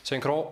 Synchro.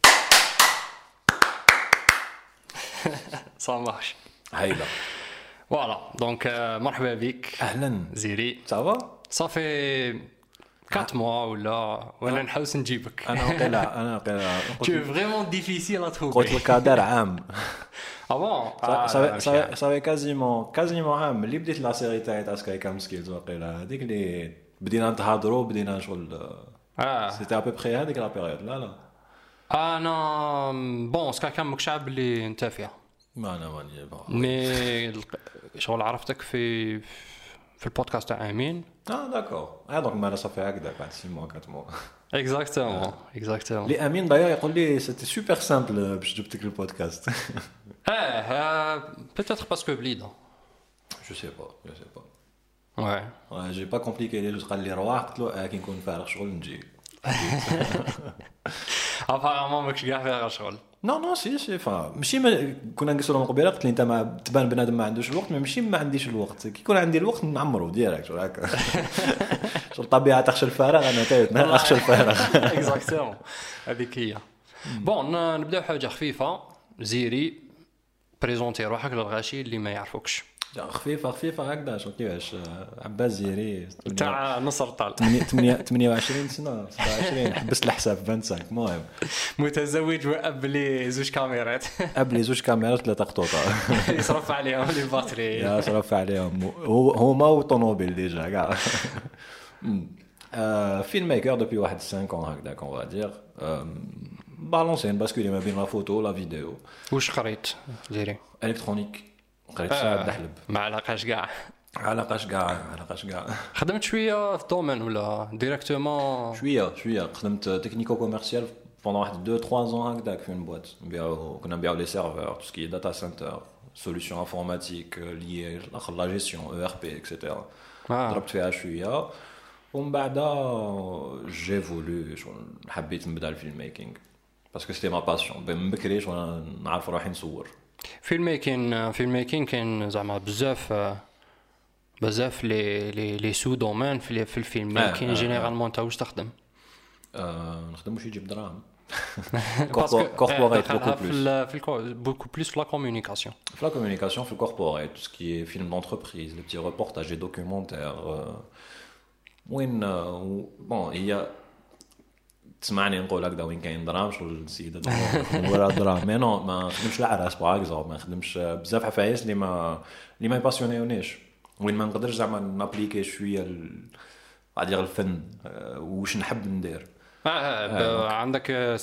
Ça marche. هايلة. Voilà, donc مرحبا بك أهلا. زيري. Ça va؟ Ça fait 4 mois ولا نحاوس نجيبك. أنا قيلا. Tu es vraiment difficile à trouver. قلت لك هذا عام. Ah bon? صافي كازيمون عام اللي بديت لا سيري تاع سكاي كام سكيلز وقيلا هذيك اللي بدينا نتهضروا بدينا شغل. سيتي ابي بخي هذيك لا بيريود. لا انا بون سكا كان ماكش عارف اللي انت فيها. ما انا ماني مي شغل عرفتك في البودكاست تاع امين. داكور. دونك ما صافي هكذا بعد 6 موا 4 موا. اكزاكتومون لي امين داير يقول لي سيتي سوبر سامبل باش جبتك البودكاست. peut-être parce que بليده. جو سي با Ouais. جي با كومبليكي لي قال لي رواح قلت له كي نكون فارغ شغل نجي. apparemment ماكش كاع فيها شغل. نو سي ماشي كنا نقصوا من قبيله قلت لي انت ما تبان بنادم ما عندوش الوقت ماشي ما عنديش الوقت كي يكون عندي الوقت نعمرو ديريكت هكا. شو الطبيعه تخشى الفراغ انا تايت اخشى الفراغ. اكزاكتومون هذيك هي. بون نبداو حاجه خفيفه. زيري بريزونتي روحك للغاشي اللي ما يعرفوكش. خفيفه هكذا شو كيفاش عباس زيري تاع نصر طال 28 سنه 27 حبست الحساب 25. المهم متزوج واب لي زوج كاميرات. اب لي زوج كاميرات 3 قطوطه. يصرف عليهم لي باتري. يا صرف عليهم هما وطوموبيل ديجا كاع. فيلم ميكر دوبي واحد 5 ans هكذاك اون فا دير. بالونسين باسكولي ما بين لا فوتو لا فيديو. واش قريت زيري؟ الكترونيك قريت ساعه دحلب. ما علاقاش كاع. علاقاش كاع. خدمت شويه في الدومين ولا ديريكتومون؟ شويه خدمت تكنيكو كوميرسيال pendant واحد 2 3 ans هكذاك في une boîte كنا نبيعوا لي سيرفور tout ce qui est data center solutions informatiques liées la gestion ERP etc. ضربت فيها شويه ومن بعد جي فولو حبيت نبدا الفيلم ميكينغ باسكو سيتي ما باسيون من بكري وانا نعرف روحي نصور. فيلم ميكين كاين زعما بزاف لي سو دومين في الفيلم ميكين. جينيرالمون انت واش تخدم؟ نخدم واش يجيب دراهم. كوربوريت beaucoup plus في لا كومونيكاسيون. في لا كومونيكاسيون في الكوربوريت tout ce qui est film d'entreprise les petits reportages et documentaires وين بون هي تسمعني نقول هكذا وين كاين دراهم شغل السيده ولا دراهم مي نو ما نخدمش العراس باغ اكزومبل ما نخدمش بزاف حفايس اللي ما يباسيونيونيش وين ما نقدرش زعما نابليكي شويه غادي الفن واش نحب ندير. عندك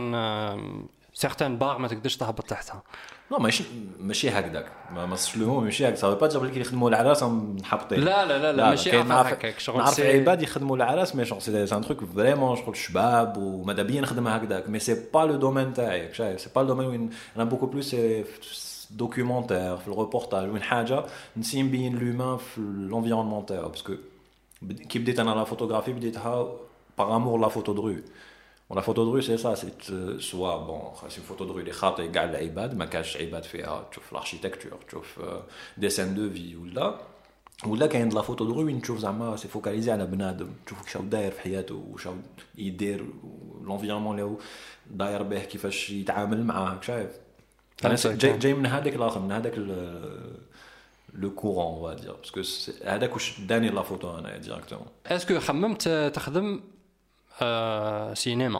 سيغتان باغ ما تقدرش تهبط تحتها. لا ماشي هكذاك ما صلوهم ماشي هكذا صافي با تجبر لك يخدموا العراس محبطين. لا ماشي هكاك شغل نعرف عباد يخدموا العراس مي شغل سي ان تروك فريمون شغل شباب وماذا بيا نخدمها هكذاك مي سي با لو دومين تاعي شايف سي با لو دومين وين انا بوكو بلوس دوكيومونتير في الريبورتاج وين حاجه نسي نبين لومان في لونفيرونمون تاعو باسكو كي بديت انا لا فوتوغرافي بديتها باغ امور لا فوتو درو. ولا فوتو درو سي سا سي سوا بون سي فوتو درو اللي خاطي كاع العباد ما كاش عباد فيها تشوف الاركيتكتور تشوف ديسين دو في ولا كاين لا فوتو درو وين تشوف زعما سي فوكاليزي على بنادم تشوف كيفاش داير في حياته واش يدير لونفيرونمون اللي داير به كيفاش يتعامل معاه شايف. انا جاي من هذاك الاخر من هذاك لو كورون on va dire parce que هذاك واش داني لا فوتو انا ديريكتومون. اسكو خممت تخدم سينما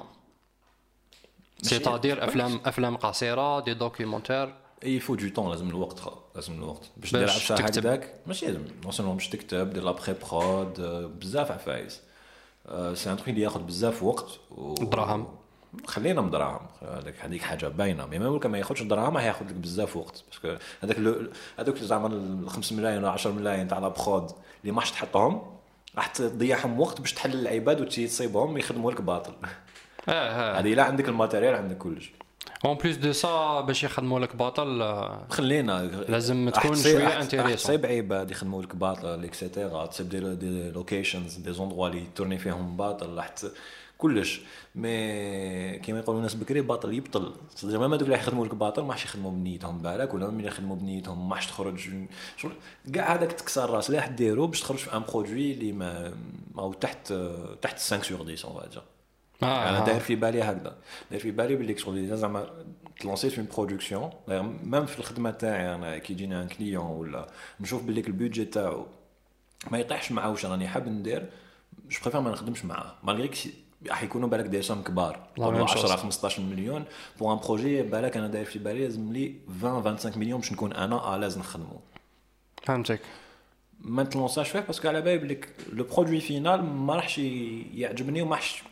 سيتادير افلام قصيره دي دوكيومونتير؟ يفو دو طون لازم الوقت باش دير عفسه هكذاك ماشي لازم نوصلهم باش تكتب دير لا بري برود بزاف عفايس سي ان تروك اللي ياخذ بزاف وقت دراهم. خلينا مدراهم هذيك حاجه باينه مي ممكن ما ياخذش دراهم هياخذ لك بزاف وقت باسكو هذوك زعما 5 ملايين ولا 10 ملايين تاع لا برود اللي ماش تحطهم راح تضيعهم وقت باش تحل العباد وتصيبهم يخدموا لك باطل. هذه لا عندك الماتيريال عندك كلش اون بليس دو سا باش يخدموا لك باطل خلينا لازم تكون شويه انتريسون. تصيب عباد يخدموا لك باطل اكسيتيرا تصيب دي لوكيشنز دي زوندروا اللي تورني فيهم باطل راح كلش مي كيما يقولوا الناس بكري باطل يبطل زعما ما دوك اللي يخدموا لك باطل ماش يخدموا بنيتهم بالك ولا من يخدموا بنيتهم ماش تخرج شغل كاع هذاك تكسر راس لا ديرو باش تخرج في ان برودوي اللي ما تحت 5 sur 10 on va dire. انا داير في بالي هكذا، داير في بالي باللي شغل زعما تلونسيت في اون برودكسيون ميم في الخدمه تاعي انا كي يجيني ان كليون ولا نشوف باللي البيدجي تاعو ما يطيحش معاه واش راني حاب ندير، جو بريفير ما نخدمش معاه مالغري راح يكونوا بالك دي سوم كبار 10 15 مليون بور ان بروجي بالك انا داير في بالي لازم لي 20 25 مليون باش نكون انا لازم نخدمه. فهمتك. ما نتلونساش فيه باسكو على بالي بليك لو برودوي فينال ما راحش يعجبني وماحش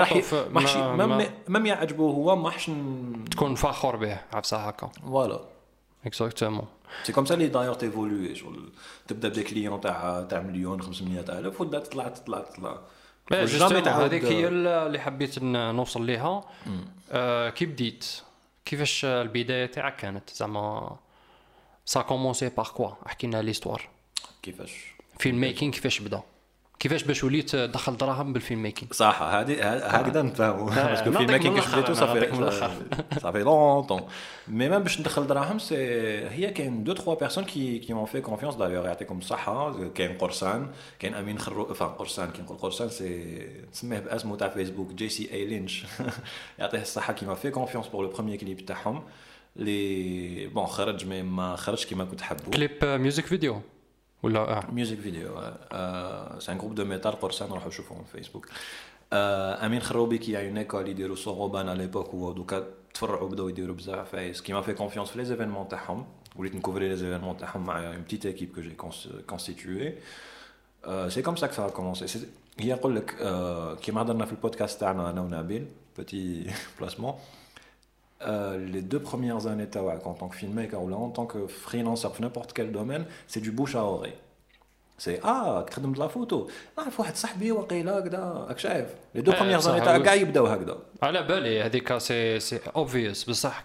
مم يعجبه هو ماحش تكون فخور به عفسه هكا. فوالا اكزاكتومون. سي كوم سا لي داير تيفولوي شغل تبدا بدي كليون تاع مليون 500 الف وتبدا تطلع جوستومون هذيك هي اللي حبيت نوصل ليها. كي بديت كيفاش البدايه تاعك كانت زعما سا كومونسي باغ كوا احكي لنا ليستوار كيفاش فيلم ميكينغ كيفاش بدا كيفاش باش وليت تدخل دراهم بالفيلم ميكينغ صح هذه هكذا نفهموا باسكو الفيلم ميكينغ كيفاش بديتو صافي لونطون مي ميم باش ندخل دراهم سي هي كاين دو تروا بيرسون كي مون في كونفيونس دايوغ يعطيكم الصحه كاين قرصان كاين امين خرو قرصان كي نقول قرصان سي نسميه باسمه تاع فيسبوك جي سي اي لينش يعطيه الصحه كيما في كونفيونس بور لو بروميير كليب تاعهم لي بون خرج مي ما خرجش كيما كنت حابو كليب ميوزك فيديو ولا ميوزك فيديو سي ان جروب دو ميتال قرصان روحوا شوفوهم في فيسبوك. امين خروبي كي اون ايكول يديروا سوروبان على ليبوك ودوكا تفرعوا بداو يديروا بزاف فايس كيما في كونفيونس في لي زيفينمون تاعهم وليت نكوفري لي زيفينمون تاعهم مع اون بتيت ايكيب كو جي كونستيتوي. سي كوم سا كو سا كومونسي هي نقول لك كيما هضرنا في البودكاست تاعنا انا ونبيل بوتي بلاسمون les 2 premières années en tant que filmmaker ou là en tant que freelancer في n'importe quel domaine c'est du bouche à oreille. c'est تخدم de la photo نعرف واحد صاحبي وقيله هكذا راك شايف les 2 premières années تاع كاع يبداو هكذا على بالي هذيك سي اوبفيوس بصح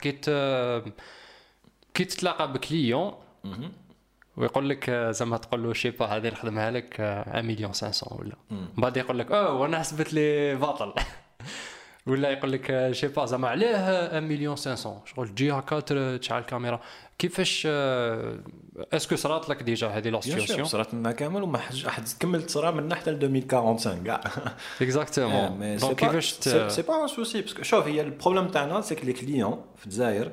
كي تتلاقى بكليون ويقول لك زعما تقول له شي با هذه نخدمها لك 1 مليون 500 ولا بعد يقول لك وانا حسبت لي باطل ولا يقول لك شي با زعما عليه 1 مليون 500 شغل تجي هكا تشعل الكاميرا كيفاش اسكو صرات لك ديجا هذه لا سيتوياسيون صرات لنا كامل وما حد كملت تصرا من حتى ل 2045 كاع اكزاكتومون دونك كيفاش سي با ان سوسي باسكو شوف هي البروبليم تاعنا سي كو لي كليون في الجزائر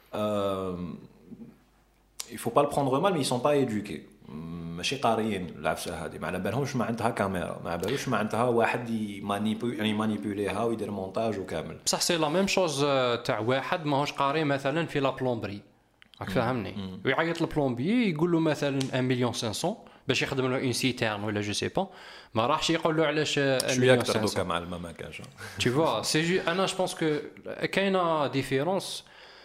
il faut pas le prendre mal mais ils sont pas éduqués ماشي قاريين العفسه هذه ما على بالهمش ما عندها كاميرا ما على بالوش ما عندها واحد مانيبيوليها ويدير مونتاج وكامل بصح سي لا ميم شوز تاع واحد ماهوش قاري مثلا في لا بلومبري راك فاهمني ويعيط للبلومبي يقول له مثلا 1 مليون 500 باش يخدم له اون سيتيرن ولا جو سي با ما راحش يقول له علاش 1 مليون 500 دوكا مع ما كاش tu vois c'est انا جو بونس كو كاينه ديفيرونس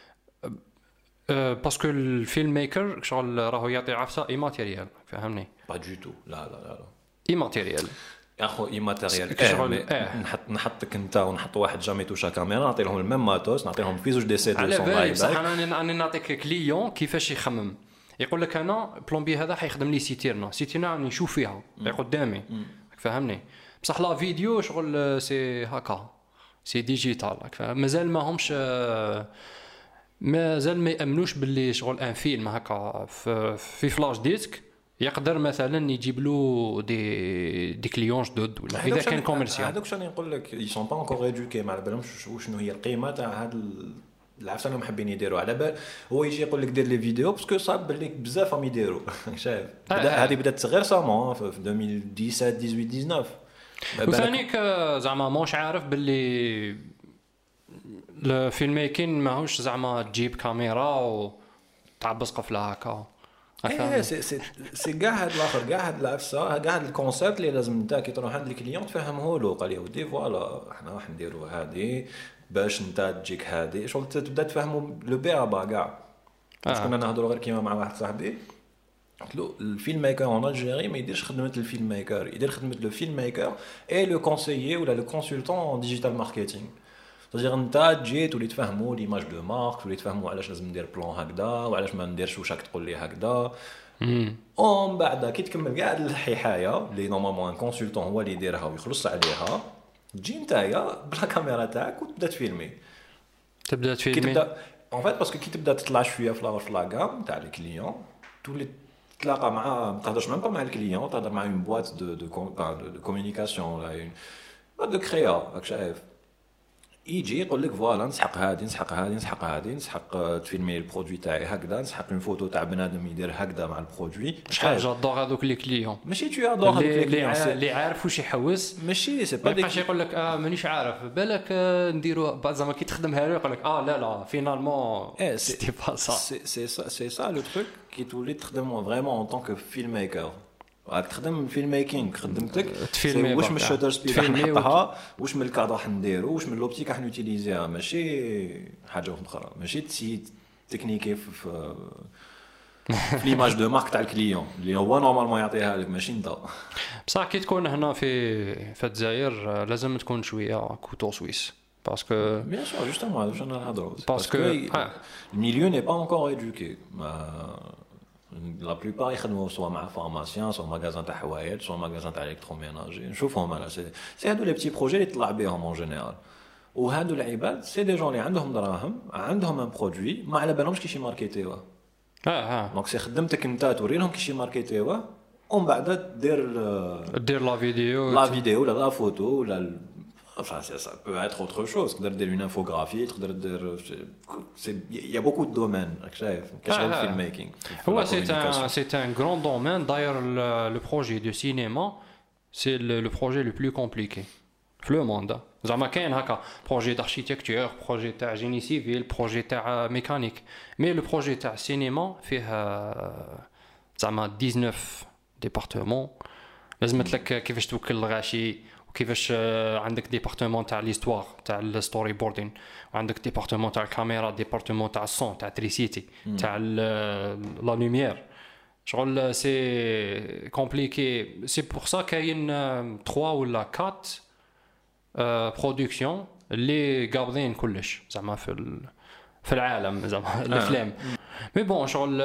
باسكو الفيلم ميكر شغل راهو يعطي عفسه اي ماتيريال فهمني با دو تو لا اي ماتيريال يا اخو اي ماتيريال نحطك انت ونحط واحد جامي توشا كاميرا نعطي لهم الميم ماتوس نعطي لهم في زوج دي سي 200 على بصح انا نعطيك كليون كيفاش يخمم يقول لك انا بلومبي هذا حيخدم لي سيتيرنا راني نشوف فيها قدامي فهمني بصح لا فيديو شغل سي هكا سي ديجيتال مازال ما همش مازال ما يامنوش باللي شغل ان فيلم هكا في فلاش ديسك يقدر مثلا يجيب له دي كليون جدد ولا اذا كان كوميرسيال هذوك شنو نقول لك ils sont pas encore éduqués ما على بالهمش شنو هي القيمه تاع هذا العفسه اللي محبين يديروا على بال هو يجي يقول لك دير لي فيديو باسكو صاب باللي بزاف راهم يديروا شايف هذه بدات غير سامون في 2017 18 19 وثانيك زعما ماهوش عارف باللي الفيلم ميكين ماهوش زعما تجيب كاميرا وتعبس قفله هكا سي كاع هاد الاخر كاع هاد العفسه كاع هاد الكونسيبت اللي لازم انت كي تروح عند الكليون تفهمه له قال لي ودي فوالا احنا راح نديروا هذه باش انت تجيك هذه شغل تبدا تفهموا لو بيرابا كاع كنا نهضروا غير كيما مع واحد صاحبي قلت له الفيلم ميكر اون الجيري ما يديرش خدمه الفيلم ميكر يدير خدمه لو فيلم ميكر اي لو كونسيي ولا لو كونسلتون ديجيتال ماركتينغ تجي انت تجي تولي تفهموا ليماج دو مارك تولي تفهموا علاش لازم ندير بلان هكذا وعلاش ما نديرش واش راك تقول لي هكذا اون بعد كي تكمل كاع الحكايه اللي نورمالمون ان كونسلتون هو اللي يديرها ويخلص عليها تجي نتايا بلا كاميرا تاعك وتبدا تفيلمي كي تبدا اون فيت باسكو كي تبدا تطلع شويه في لاغام تاع الكليون تولي تلاقى مع ما تهضرش ميم با مع الكليون تهضر مع اون بواط دو كومونيكاسيون ولا اون دو كريا راك شايف يجي يقول لك فوالا نسحق هذه نسحق هذه نسحق هذه نسحق تفيلمي البرودوي تاعي هكذا نسحق اون فوتو تاع بنادم يدير هكذا مع البرودوي شحال جادور هذوك لي كليون ماشي تو ادور هذوك اللي عارف واش يحوس ماشي سي با ما يبقاش يقول لك مانيش عارف بالك نديرو زعما كي تخدمها له يقول لك لا فينالمون سيتي با سا سي سا لو تروك كي تولي تخدم فريمون اون طونك فيلم ميكر راك تخدم فيلم ميكينغ خدمتك تفيلمي واش من الشوتر سبيد راح نحطها واش من الكادر راح نديرو واش من لوبتيك راح نوتيليزيها ماشي حاجه اخرى ماشي تسي تكنيكي في ليماج دو مارك تاع الكليون اللي هو نورمالمون يعطيها لك ماشي انت بصح كي تكون هنا في الجزائر لازم تكون شويه كوتو سويس باسكو بيان سور جوستومون واش انا نهضروا باسكو الميليو ني با انكور ايدوكي لا بلوبار يخدموا سوا مع فارماسيان سوا ماغازان تاع حوايج سوا ماغازان تاع الكتروميناجي نشوفهم انا سي هادو لي بتي بروجي اللي طلع بهم اون جينيرال وهادو العباد سي دي جون اللي عندهم دراهم عندهم ان برودوي ما على بالهمش كيش يماركيتيوه دونك سي خدمتك انت توري لهم كيش يماركيتيوه ومن بعد دير لا فيديو ولا لا فوتو ولا enfin ça peut être autre chose تقدر دير une infographie تقدر دير il y a beaucoup de domaines شايف كشغل فيلم ميكينغ هو c'est un grand domaine d'ailleurs le projet de cinéma c'est le projet le plus compliqué في le monde زعما كاين هكا projet d'architecture projet تاع génie civil projet تاع mécanique mais le projet تاع cinéma فيه زعما 19 départements لازم لك كيفاش توكل الغاشي وكيفاش عندك ديبارتمون تاع ليستوار تاع الستوري بوردين وعندك ديبارتمون تاع الكاميرا ديبارتمون تاع الصون تاع التريسيتي تاع لا لوميير شغل سي كومبليكي سي بور سا كاين 3 ولا 4 برودكسيون اللي قابضين كلش زعما في العالم زعما الافلام مي بون شغل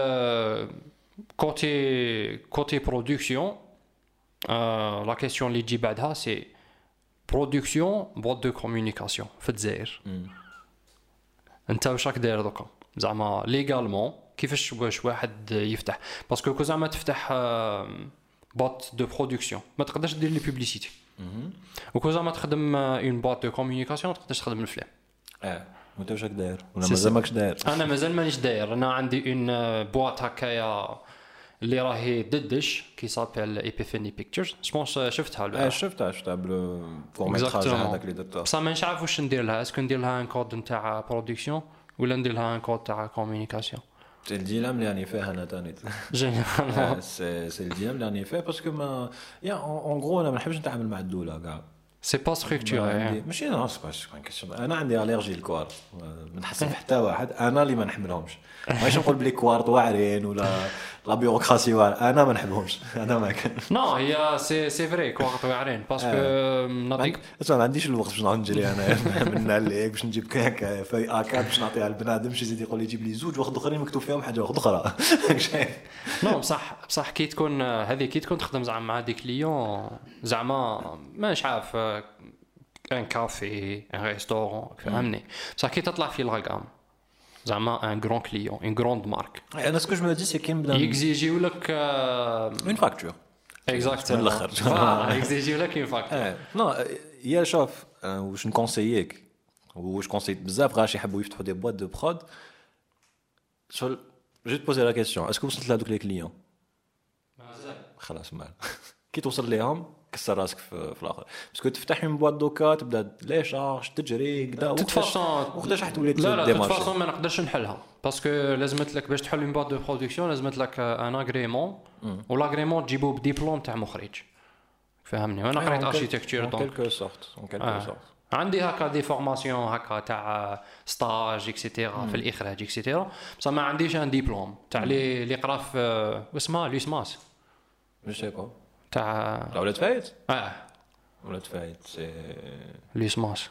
كوتي برودكسيون la question اللي تجي بعدها سي برودكسيون بوات دو كومونيكاسيون في الجزائر انت واش راك داير دوكا زعما ليغالمون كيفاش واش واحد يفتح باسكو كو زعما تفتح بوات دو برودكسيون ما تقدرش دير لي بوبليسيتي وكو زعما تخدم اون بوات دو كومونيكاسيون تقدرش تخدم الفلام وانت واش راك داير ولا مازال ماكش داير انا مازال مانيش داير انا عندي اون بوات هكايا اللي راهي ددش كي سابيل ايبيفاني بيكتشرز جوبونس شفتها شفتها بالفورماتراج هذاك اللي درته بصح ما نعرف واش ندير لها اسكو ندير لها ان كود نتاع برودكسيون ولا ندير لها ان كود تاع كومونيكاسيون سي الديلام اللي راني فيه انا ثاني جينيرالمون سي الديلام اللي راني فيه باسكو ما يا اون غرو انا ما نحبش نتعامل مع الدوله كاع سي با ستركتوري ماشي نو سي با كيسيون انا عندي الرجي للكوارت ما نحسب حتى واحد انا اللي ما نحملهمش ماشي نقول بلي كوارت واعرين ولا لا بيروقراسي واعر انا ما نحبهمش انا ما كان نو هي سي فري كوارت واعرين باسكو نعطيك ما عنديش الوقت باش نعاود نجري انا من عليك باش نجيب كاك في اكاد باش نعطيها للبنادم شي يزيد يقول لي جيب لي زوج واحد اخرين مكتوب فيهم حاجه واحده اخرى نو بصح كي تكون هذه كي تكون تخدم زعما مع دي كليون زعما مانيش عارف ان كافي ان ريستورون فهمني بصح كي تطلع في الرقم زعما ان غران كليون ان غروند مارك انا سكو جو مو دي سي كاين بدا يكزيجيو لك اون فاكتور اكزاكتومون من الاخر يكزيجيو لك اون فاكتور نو يا شوف واش نكونسييك واش كونسيت بزاف غاش يحبوا يفتحوا دي بوات دو برود شغل جو تبوزي لا كيسيون اسكو وصلت لهذوك لي كليون مازال خلاص مال كي توصل ليهم كسر راسك في الاخر باسكو تفتح من بوات دوكا تبدا لي شارج تجري كذا وقتاش راح تولي لا تفاصون ما نقدرش نحلها باسكو لازمت لك باش تحل من بوات دو برودكسيون لازمت لك ان اغريمون ولاغريمون تجيبو بديبلوم تاع مخرج فهمني وانا قريت اركيتكتور دونك كلكو سورت عندي هكا دي فورماسيون هكا تاع ستاج اكسيتيرا في الاخراج اكسيتيرا بصح ما عنديش ان ديبلوم تاع اللي قرا في اسمها ليسماس جو سي با تاع ولاد فايت ولاد فايت سي ليسماس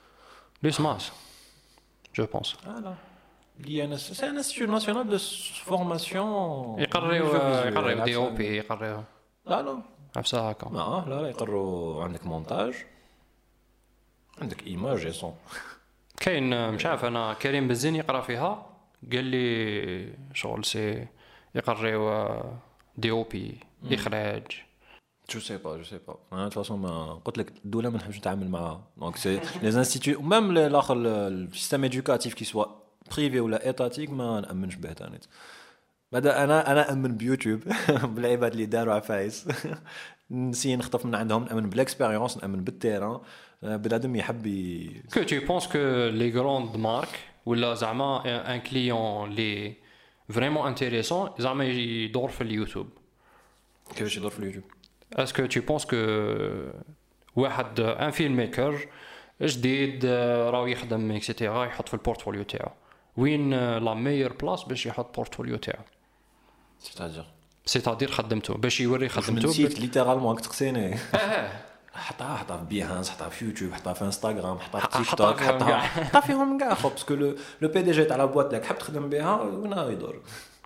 جو بونس لا لي سي ان انستيتيو ناسيونال دو فورماسيون يقريو دي او بي يقريو لا نفسها هكا لا يقروا عندك مونتاج عندك ايماج صون كاين مش عارف انا كريم بزين يقرا فيها قال لي شغل سي يقريو دي او بي اخراج جو سي با انا de toute façon ما قلت لك الدوله ما نحبش نتعامل معها دونك سي لي انستيتيو ميم الاخر السيستم ادوكاتيف كي سوا بريفي ولا ايتاتيك ما نامنش به تاني. بعدا انا امن بيوتيوب بالعباد اللي داروا عفايس نسي نخطف من عندهم، نامن بالاكسبيريونس، نامن بالتيران بنادم يحب كو tu penses que les grandes marques ولا زعما ان كليون لي فريمون انتريسون زعما يدور في اليوتيوب؟ كيفاش يدور في اليوتيوب؟ اسكو tu penses que واحد ان فيلم ميكر جديد راهو يخدم اكسيتيرا يحط في البورتفوليو تاعو وين لا ميور بلاص باش يحط بورتفوليو تاعو؟ سيتادير خدمته باش يوري خدمته نسيت ليترالمون تقسيني حطها في بيهانس، حطها في يوتيوب، حطها في انستغرام، حطها في تيك توك، حطها فيهم كاع باسكو لو بي دي جي تاع لا بواط اللي حاب تخدم بها وين هو يدور.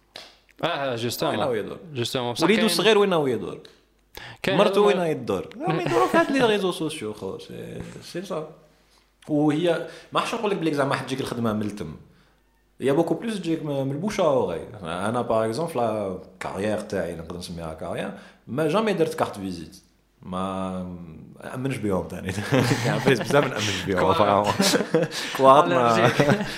جوستومون وليدو صغير وين هو يدور، مرتو وين يدور، ما يدوروا في هاد لي ريزو سوسيو خو سي صا. وهي ما حش نقول لك بليك زعما حتجيك الخدمه من التم، يا بوكو بلوس تجيك من البوشاوري. انا باغ اكزومبل لا كارير تاعي نقدر نسميها كارير ما جامي درت كارت فيزيت، ما امنش بيهم ثاني يعني فيس بزاف نامن بيهم فريمون كوار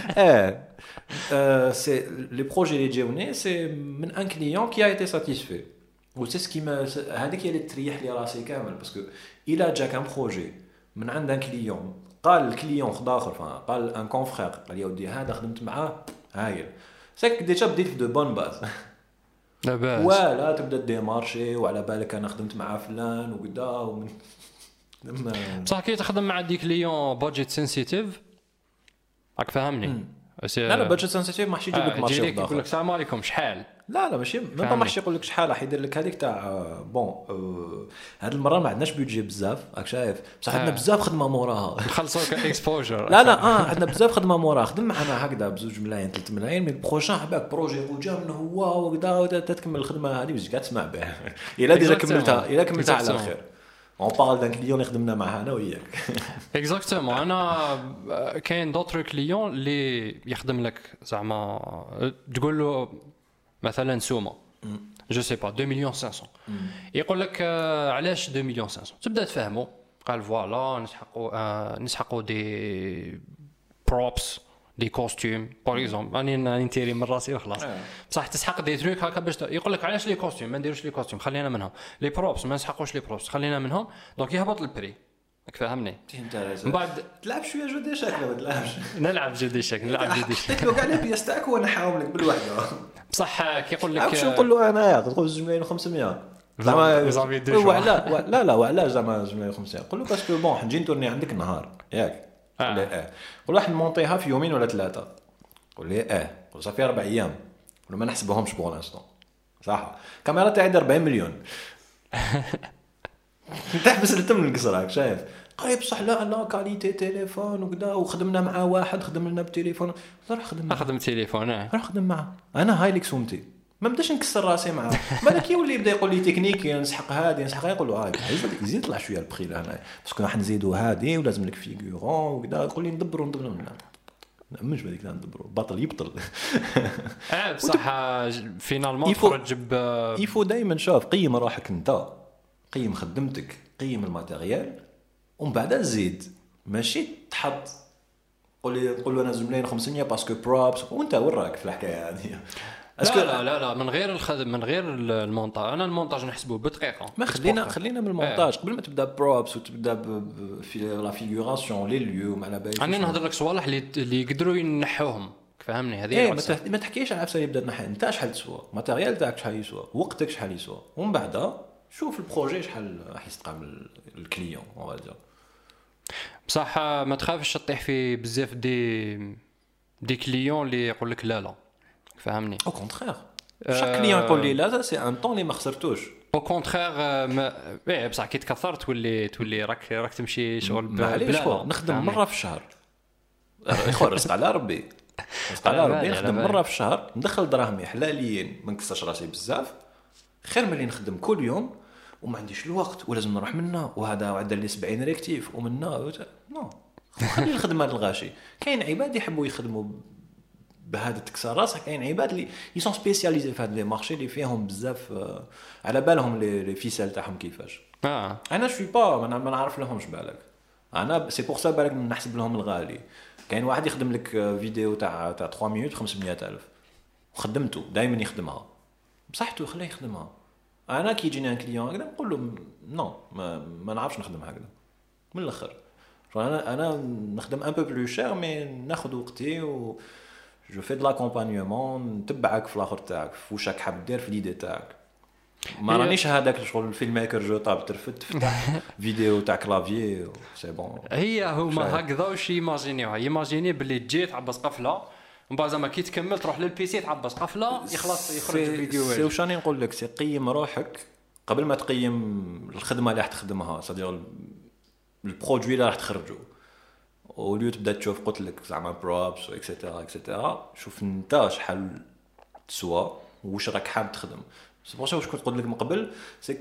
سي لي بروجي اللي جاوني سي من ان كليون كي ا ايتي ساتيسفي و سي سكيما هذيك هي اللي تريح لي راسي كامل باسكو الا جاك ان بروجي من عند ان كليون قال الكليون خد اخر قال ان كونفرير قال لي ودي هذا خدمت معاه هايل ساك ديجا بديت في دو بون باز لاباس ولا تبدا ديمارشي وعلى بالك انا خدمت مع فلان وكذا ومن بصح كي تخدم مع دي كليون بادجيت سنسيتيف راك فاهمني. لا بادجيت سنسيتيف ما حش يجيب لك مارشي يقول لك السلام عليكم شحال، لا ماشي ما حش يقول لك شحال، راح يدير لك هذيك تاع بون هاد المره ما عندناش بيدجي بزاف راك شايف بصح عندنا بزاف خدمه موراها نخلصوك اكسبوجر. لا عندنا بزاف خدمه موراها، خدم معنا هكذا ب2 ملايين 3 ملايين من البروجين حباك بروجي وجا منه هو وكذا تكمل الخدمه هذه باش قاعد تسمع بها الا ديجا كملتها على الخير. اون بارل دان كليون اللي خدمنا معاه انا وياك اكزاكتومون. انا كاين دوطر كليون اللي يخدم لك زعما تقول له مثلا سومه جو سي با 2,500,000 يقول لك علاش 2,500,000 تبدا تفهمه قال فوالا نسحقوا دي بروبس دي كوستيم باغ اكزومبل راني ننتيري من راسي وخلاص بصح تسحق دي تروك هكا باش يقول لك علاش لي كوستيم ما نديروش لي كوستيم خلينا منهم، لي بروبس ما نسحقوش لي بروبس خلينا منهم، دونك يهبط البري راك فاهمني. من بعد تلعب شويه جو دي شاك ولا تلعبش نلعب جو دي شاك حطيت له كاع لي بياس تاعك وانا نحاوم لك بالوحده بصح كيقول لك واش نقول له انا تقول 2,500,000 زعما لا وعلاش زعما 2,500,000 قول له باسكو بون حنجي نتورني عندك النهار ياك لا قول واحد نمونطيها في يومين ولا 3 قول لي قول صافي 4 ايام ولا ما نحسبوهمش بور لانستون صح كاميرا تاعي 40 مليون تحبس التم القصر راك شايف قريب صح لا كاليتي تليفون وكذا وخدمنا مع واحد خدم لنا بتليفون راح خدم تليفون راح خدم معه انا هاي ليك سومتي ما بداش نكسر راسي معاه بالك يولي يبدا يقول لي تكنيك نسحق هذه نسحق يقول له هاي يزيد يطلع شويه البخي لهنا باسكو راح نزيدوا هذه ولازم لك فيغورون وكذا يقول لي ندبروا مش بديك ندبروا بطل يبطل بصح فينالمون خرج يفو دائما شوف قيم روحك انت قيم خدمتك قيم الماتيريال ومن بعد نزيد ماشي تحط قول له انا 2,500,000 باسكو بروبس وانت وراك في الحكايه هذه لا من غير الخدم من غير المونتاج. انا المونتاج نحسبه بدقيقه ما خلينا من المونتاج قبل ما تبدا بروبس وتبدا في لا فيغوراسيون لي ليو مع بالي انا نهضر لك صوالح اللي يقدروا ينحوهم فهمني هذه ما تحكيش على عفسه يبدا نحي انت شحال تسوى الماتيريال تاعك شحال يسوى وقتك شحال يسوى ومن بعد شوف البروجي شحال راح يستقبل الكليون وهذا بصح ما تخافش تطيح في بزاف دي كليون اللي يقول لك لا فهمني او كونترير شاك كليون يقول لي لا سي ان طون اللي ما خسرتوش او كونترير بصح كي تكثر تولي راك تمشي شغل بلا نخدم مره في الشهر اخويا رزق على ربي نخدم مره في الشهر ندخل دراهمي حلاليين ما نكسرش راسي بزاف خير من اللي نخدم كل يوم وما عنديش الوقت ولازم نروح منا وهذا وعد لي 70 ريكتيف ومنا نو خلي الخدمه الغاشي. كاين عباد يحبوا يخدموا بهذا تكسر راسك. كاين عباد اللي يسون سبيسياليزي في هاد لي مارشي اللي فيهم بزاف على بالهم لي فيسال تاعهم كيفاش. انا شوي با ما نعرف لهمش بالك. انا سي بور سا بالك نحسب لهم الغالي. كاين واحد يخدم لك فيديو تاع 3 مينوت 500,000 وخدمته دائما يخدمها بصحته خليه يخدمها. انا كي يجيني ان كليون هكذا نقول له نو ما نعرفش نخدم هكذا من الاخر. انا نخدم ان بو بلو شير مي ناخذ وقتي و جو في دو لاكومبانيومون نتبعك في الاخر تاعك واش راك حاب دير في ليدي تاعك. ما رانيش هذاك شغل الفيلم ميكر جو طاب ترفد تفتح فيديو تاع كلافيي سي بون. هي هما هكذا واش يماجيني باللي تجي تعبس قفله ومن بعد زعما كي تكمل تروح للبي سي تعبس قفله يخلص يخرج الفيديو. سي واش راني نقول لك سي قيم روحك قبل ما تقيم الخدمه اللي راح تخدمها صديق البرودوي اللي راح تخرجه. وليو تبدا تشوف قلت لك زعما بروبس اكسيتيرا اكسيتيرا شوف انت شحال تسوى واش راك حاب تخدم. سي بور سا واش كنت قلت لك من قبل سي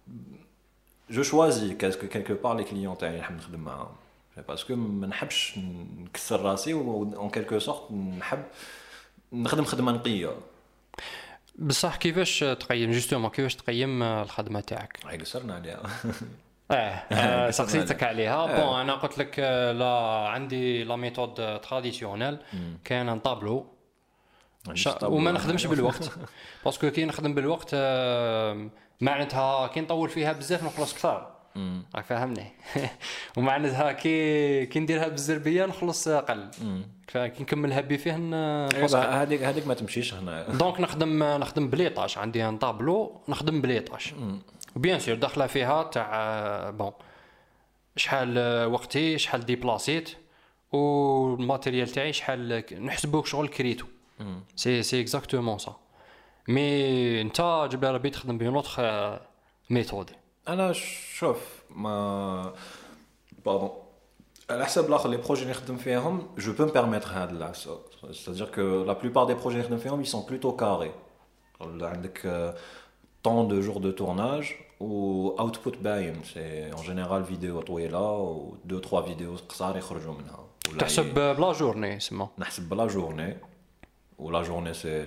جو شوازي كالكو بار لي كليون تاعي نحب نخدم معاهم باسكو ما نحبش نكسر راسي اون كالكو سورت نحب نخدم خدمه نقيه. بصح كيفاش تقيم جوستومون كيفاش تقيم الخدمه تاعك؟ هاي قصرنا عليها. سقسيتك عليها. بون انا قلت لك لا عندي لا ميثود تراديسيونيل كاين ان طابلو وما نخدمش بالوقت باسكو كي نخدم بالوقت معناتها كي نطول فيها بزاف نخلص كثار راك فاهمني. ومعناتها كي نديرها بالزربيه نخلص اقل كي نكملها بفيه هذيك ما تمشيش هنا. دونك نخدم بليطاج عندي ان طابلو نخدم بليطاج وبيان سور داخله فيها تاع بون شحال وقتي شحال ديبلاسيت والماتيريال تاعي شحال نحسبوك شغل كريتو. سي اكزاكتومون سا. مي انت جبل ربي تخدم بين اوتر ميثود. انا شوف ما باردون على حسب الاخر لي بروجي اللي نخدم فيهم جو بو مبيرميتر هذا العفسه. c'est-à-dire que la plupart des projets اللي نخدم فيهم ils sont plutôt carrés. عندك temps de jours de tournage ou output باين c'est en général vidéo طويله و 2-3 فيديو قصار يخرجوا منها. تحسب بلا جورني سما نحسب بلا جورني ولا جورني سي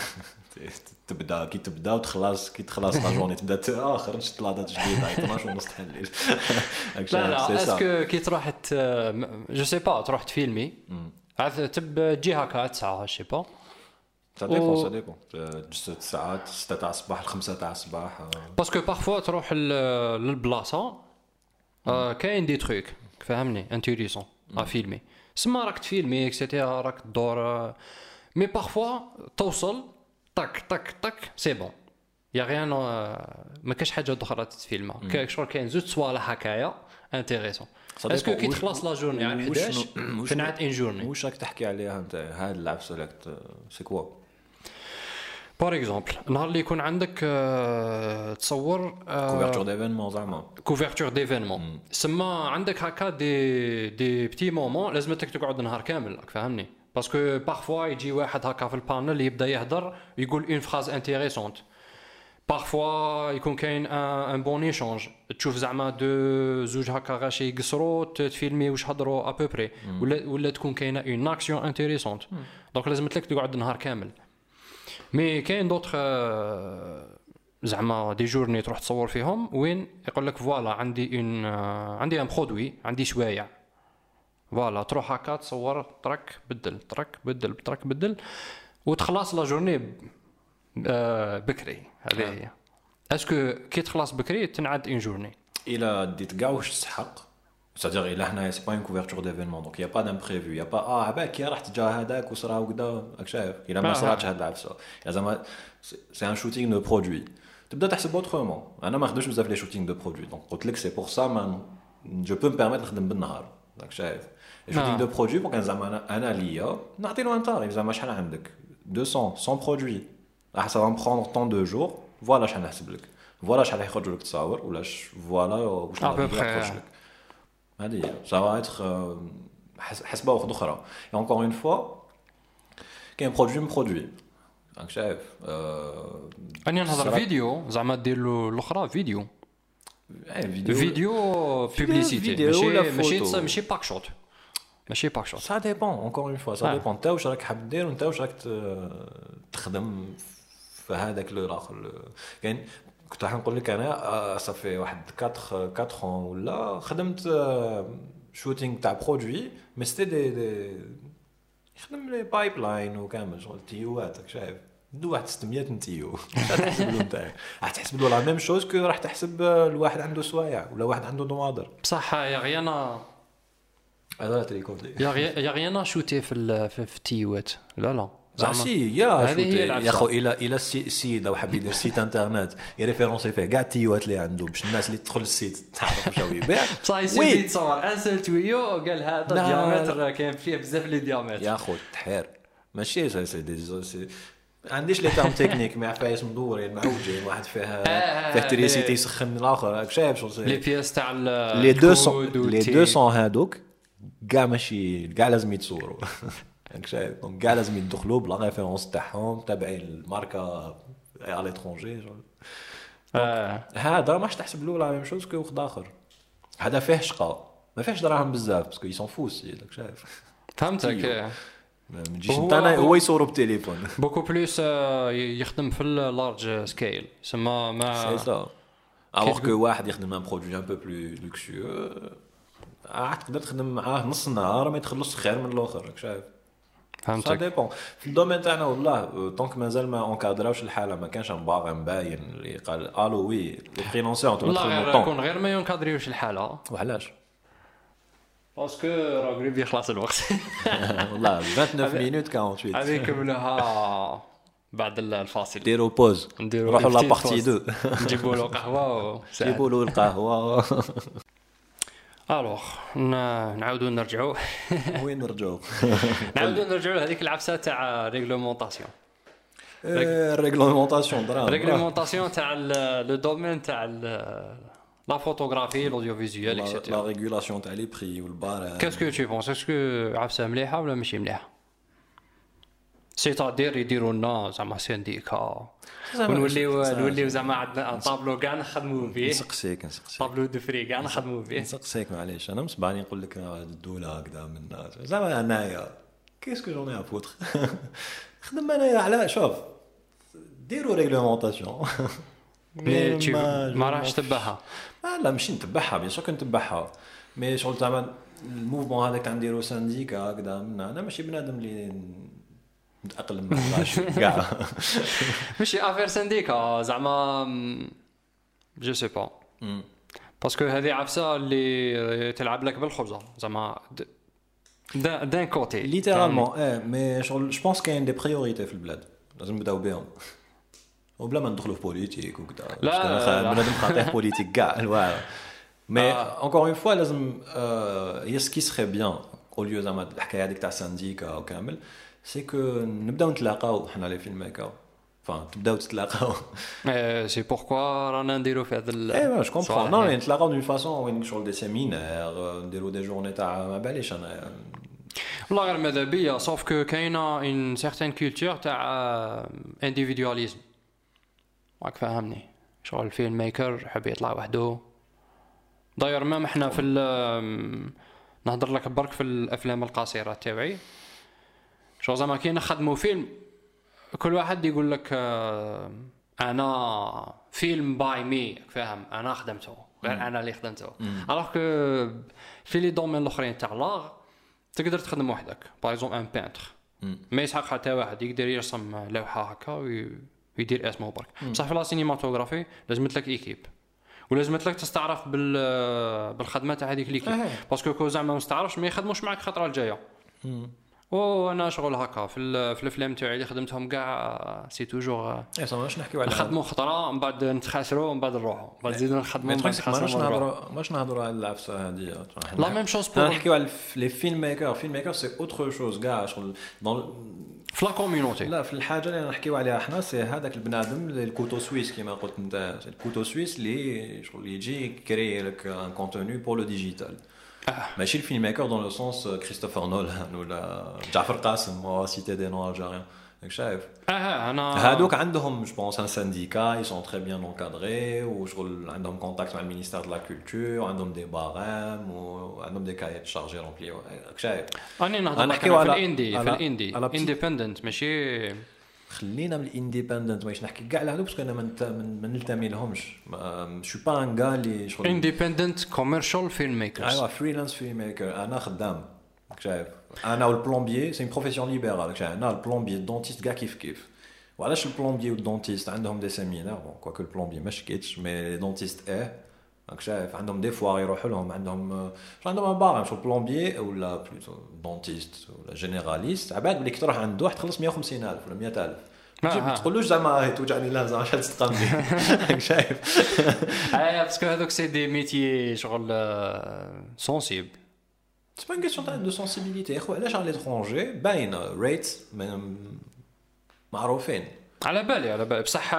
تبدا كي تبدا وتخلص كي تخلص لا جورني تبدا خرجت لاطات جديده 12 ونص تاع الليل. لا اسكو كي تروح جو سي با تروح تفيلمي عاد تجي هكا 9 شي با ça dépend 6 ساعات 6 تاع الصباح 5 تاع الصباح باسكو بارفوا تروح للبلاصه كاين دي تروك فهمني انتيريسون فيلمي سما راك تفيلمي اكسيتيرا راك تدور مي بارفوا توصل طك طك طك سي بون يا غيان ما كاش حاجه اخرى تتفيلمها شغل كاين زوج صوالح هكايا انتريسون. اسكو كي تخلص لا جورني على 11 تنعت ان جورني واش راك تحكي عليها انت هاد العفسه لك سي كوا بار اكزومبل نهار اللي يكون عندك تصور كوفرتور ديفينمون زعما كوفرتور ديفينمون سما عندك هكا دي بتي مومون لازمتك تقعد نهار كامل راك فاهمني باسكو بارفوا يجي واحد هكا في البانل يبدا يهضر يقول اون فراز انتريسونت بارفوا يكون كاين ان بون ايشانج تشوف زعما دو زوج هكا غاشي يقصروا تفيلمي واش هضروا ا بوبري ولا تكون كاينه اون اكسيون انتريسونت دونك لازمتك تقعد نهار كامل. مي كاين دوطخ زعما دي جورني تروح تصور فيهم وين يقول لك فوالا عندي ان برودوي عندي شوايع فوالا تروح هكا تصور ترك بدل ترك بدل ترك بدل وتخلص لا جورني بكري. هذه هي اسكو كي تخلص بكري تنعد اون جورني الى ديت كاع واش تسحق c'est-à-dire il هنا سي با une couverture d'événement donc il y a pas d'imprévu il y a pas عباك راح تجا هذاك وصرا وكذا راك شايف الى ما صراتش هاد العفسه زعما سي ان شوتينغ دو برودوي تبدا تحسب اوترومون. انا ما خدمتش بزاف لي شوتينغ دو برودوي دونك قلت لك سي بور سا ما جو بو مبيرميت نخدم بالنهار راك شايف شوتينغ دو برودوي بوكان زعما انا ليا نعطي له ان تاريف زعما شحال عندك 200 برودوي راح سا va me prendre tant de jours فوالا شحال نحسب لك فوالا شحال يخرج لك تصاور ولا فوالا واش يخرج لك هذه ça va être حسبه واحده اخرى. et encore une fois كاين برودوي راك شايف اني نهضر فيديو زعما دير له الاخرى فيديو بوبليسيتي ماشي باك شوت ماشي باك شوت. سا ديبون اونكور اون فوا سا ديبون انت واش راك حاب دير وانت واش راك تخدم في هذاك الاخر. كاين كنت راح نقول لك انا صافي واحد 4 ولا خدمت شوتينغ تاع برودوي مي سيتي دي يخدم لي بايب لاين وكامل شغل تيوات شايف دو واحد 600 تيو تحسب له نتاع راح تحسب له لا ميم شوز كو راح تحسب الواحد عنده سوايع ولا واحد عنده نوادر بصح يا غيانا هذا تريكوت يا غيانا شوتي في التيوات لا زعما يا خو الى السيد لو حاب يدير سيت انترنت يريفيرونسي فيه كاع التيوات اللي عنده باش الناس اللي تدخل السيت تعرف واش هو يبيع صاي سيدي تصور ان سول تويو قال هذا ديامتر كاين فيه بزاف لي ديامتر يا خو تحير ماشي سي عنديش لي تام تكنيك مع فايس مدورين معوجين واحد فيه تريسيتي يسخن الاخر راك شايف شو لي بياس تاع لي 200 هادوك كاع ماشي كاع لازم يتصوروا راك شايف دونك كاع لازم يدخلوا بلا ريفيرونس تاعهم تابعين الماركه على ليترونجي هذا ماش تحسب له لا ميم شوز كو واحد اخر هذا فيه شقا ما فيهش دراهم بزاف باسكو يسون فوس راك شايف فهمتك ما نجيش نتانا هو يصوروا بالتليفون بوكو بلوس يخدم في اللارج سكيل سما ما سي سا alors que واحد يخدم ان برودوي ان بو بلو لوكسيو تقدر تخدم معاه نص النهار ما يتخلص خير من الاخر راك شايف فهمتك سا ديبون في الدومين تاعنا والله طونك مازال ما اونكادراوش الحاله ما كانش باغي مباين اللي قال الو وي لي فريلانسور والله يكون غير ما ينكادريوش الحاله وعلاش باسكو راه قريب يخلص الوقت والله 29 مينوت 48 هذيك منها بعد الفاصل ديروا بوز نروحوا لا بارتي 2 نجيبوا له قهوه نجيبوا له القهوه الوغ نعاودوا نرجعوا وين نرجعوا لهذيك العفسه تاع ريغلومونطاسيون ريغلومونطاسيون ريغلومونطاسيون تاع لو دومين تاع لا فوتوغرافي الاوديوفيزيوال اكسيتيرا لا ريغولاسيون تاع لي بري والبار كاسكو تو بونس اسكو عفسه مليحه ولا ماشي مليحه سيتادير يديروا لنا زعما سينديكا ونوليو زعما عندنا طابلو كاع نخدموا فيه نسقسيك طابلو دو فري كاع نخدموا فيه نسقسيك معليش انا مسبعني نقول لك الدوله هكذا من زعما انايا كيسكو جوني ا فوتر خدم انايا على شوف ديروا ريغلومونطاسيون ما راحش تبعها لا ماشي نتبعها بيان سور كنتبعها مي شغل تاع الموفمون هذاك تاع نديرو سانديكا هكذا انا ماشي بنادم اللي متاقلم مع كاع ماشي افير سانديكا زعما جو سي با باسكو هذه عفسه اللي تلعب لك بالخبزه زعما دان كوتي ليترالمون مي شغل جو بونس كاين دي بريوريتي في البلاد لازم نبداو بهم وبلا ما ندخلوا في بوليتيك وكذا لا بنادم خاطر بوليتيك كاع الواعر مي انكور اون فوا لازم هي سكي سخي بيان او ليو زعما الحكايه هذيك تاع سانديكا وكامل سي كو نبداو نتلاقاو حنا لي فيلم ميكر تبداو تتلاقاو سي بوركوا رانا نديرو في هذا ايوا جو كومبرون نو نتلاقاو دون فاصون وين شغل دي سيمينار نديرو دي جورني تاع ما باليش انا والله غير ماذا بيا صوف كو كاينه ان سيغتين كولتور تاع انديفيدواليزم راك فاهمني شغل الفيلم ميكر حب يطلع وحده داير ما احنا في نهضر لك برك في الافلام القصيره تاعي شغل زعما كي نخدموا فيلم كل واحد يقول لك انا فيلم باي مي فاهم انا خدمته غير انا اللي خدمته الوغ كو في لي دومين الاخرين تاع لاغ تقدر تخدم وحدك باغ اكزومبل ان بينتر ما يسحق حتى واحد يقدر يرسم لوحه هكا ويدير اسمه برك بصح في لا سينماتوغرافي لازمت لك ايكيب ولازمت لك تستعرف بالخدمه تاع هذيك ليكيب باسكو كو زعما ما تستعرفش ما يخدموش معك الخطره الجايه وانا شغل هكا في الافلام تاعي اللي خدمتهم كاع سي توجور واش نحكيو على نخدموا خطره من بعد نتخاسروا من بعد نروحوا من بعد نزيدوا نخدموا ماش نهضروا على العفسه هذه لا ميم شوز نحكيو على لي فيلم ميكر سي اوتر شوز كاع شغل في لا كوميونيتي لا في الحاجه اللي نحكيو عليها حنا سي هذاك البنادم الكوتو سويس كيما قلت انت الكوتو سويس اللي شغل يجي كري لك ان كونتوني بور لو ديجيتال ماشي الفيلم ميكر دون لو سونس كريستوفر نولان ولا جعفر قاسم او سيتي دي نو الجيريان راك شايف انا هادوك عندهم جو بونس ان سانديكا اي سون تري بيان انكادري وشغل عندهم كونتاكت مع المينيستير دو لا كولتور وعندهم دي بارام وعندهم دي كايات شارجي رونبلي راك شايف اني نهضر في الاندي اندبندنت ماشي خلينا من الانديبندنت ماش نحكي كاع على هادوك باسكو انا ما نلتمي لهمش شو با ان غا اللي شغل اندبندنت كوميرشال فيلم ميكرز ايوا فريلانس فيلم ميكر انا خدام شايف انا والبلومبيي سي بروفيسيون ليبرال شايف انا البلومبيي الدونتيست كاع كيف وعلاش البلومبيي والدونتيست عندهم دي سيمينار بون كواكو البلومبيي ما شكيتش مي دونتيست راك شايف عندهم دي فوا يروحوا لهم عندهم باغ شو البلومبيي ولا بلوتو دونتيست ولا جينيراليست عباد بلي تروح عند واحد تخلص 150,000 ولا 100,000 ما تقولوش زعما توجعني لا زعما شحال تتقام راك شايف باسكو هذوك سي دي ميتي شغل سونسيبل سي با كيسيون تاع دو سونسيبيليتي اخو علاش على ليترونجي باين ريت معروفين على بالي بصح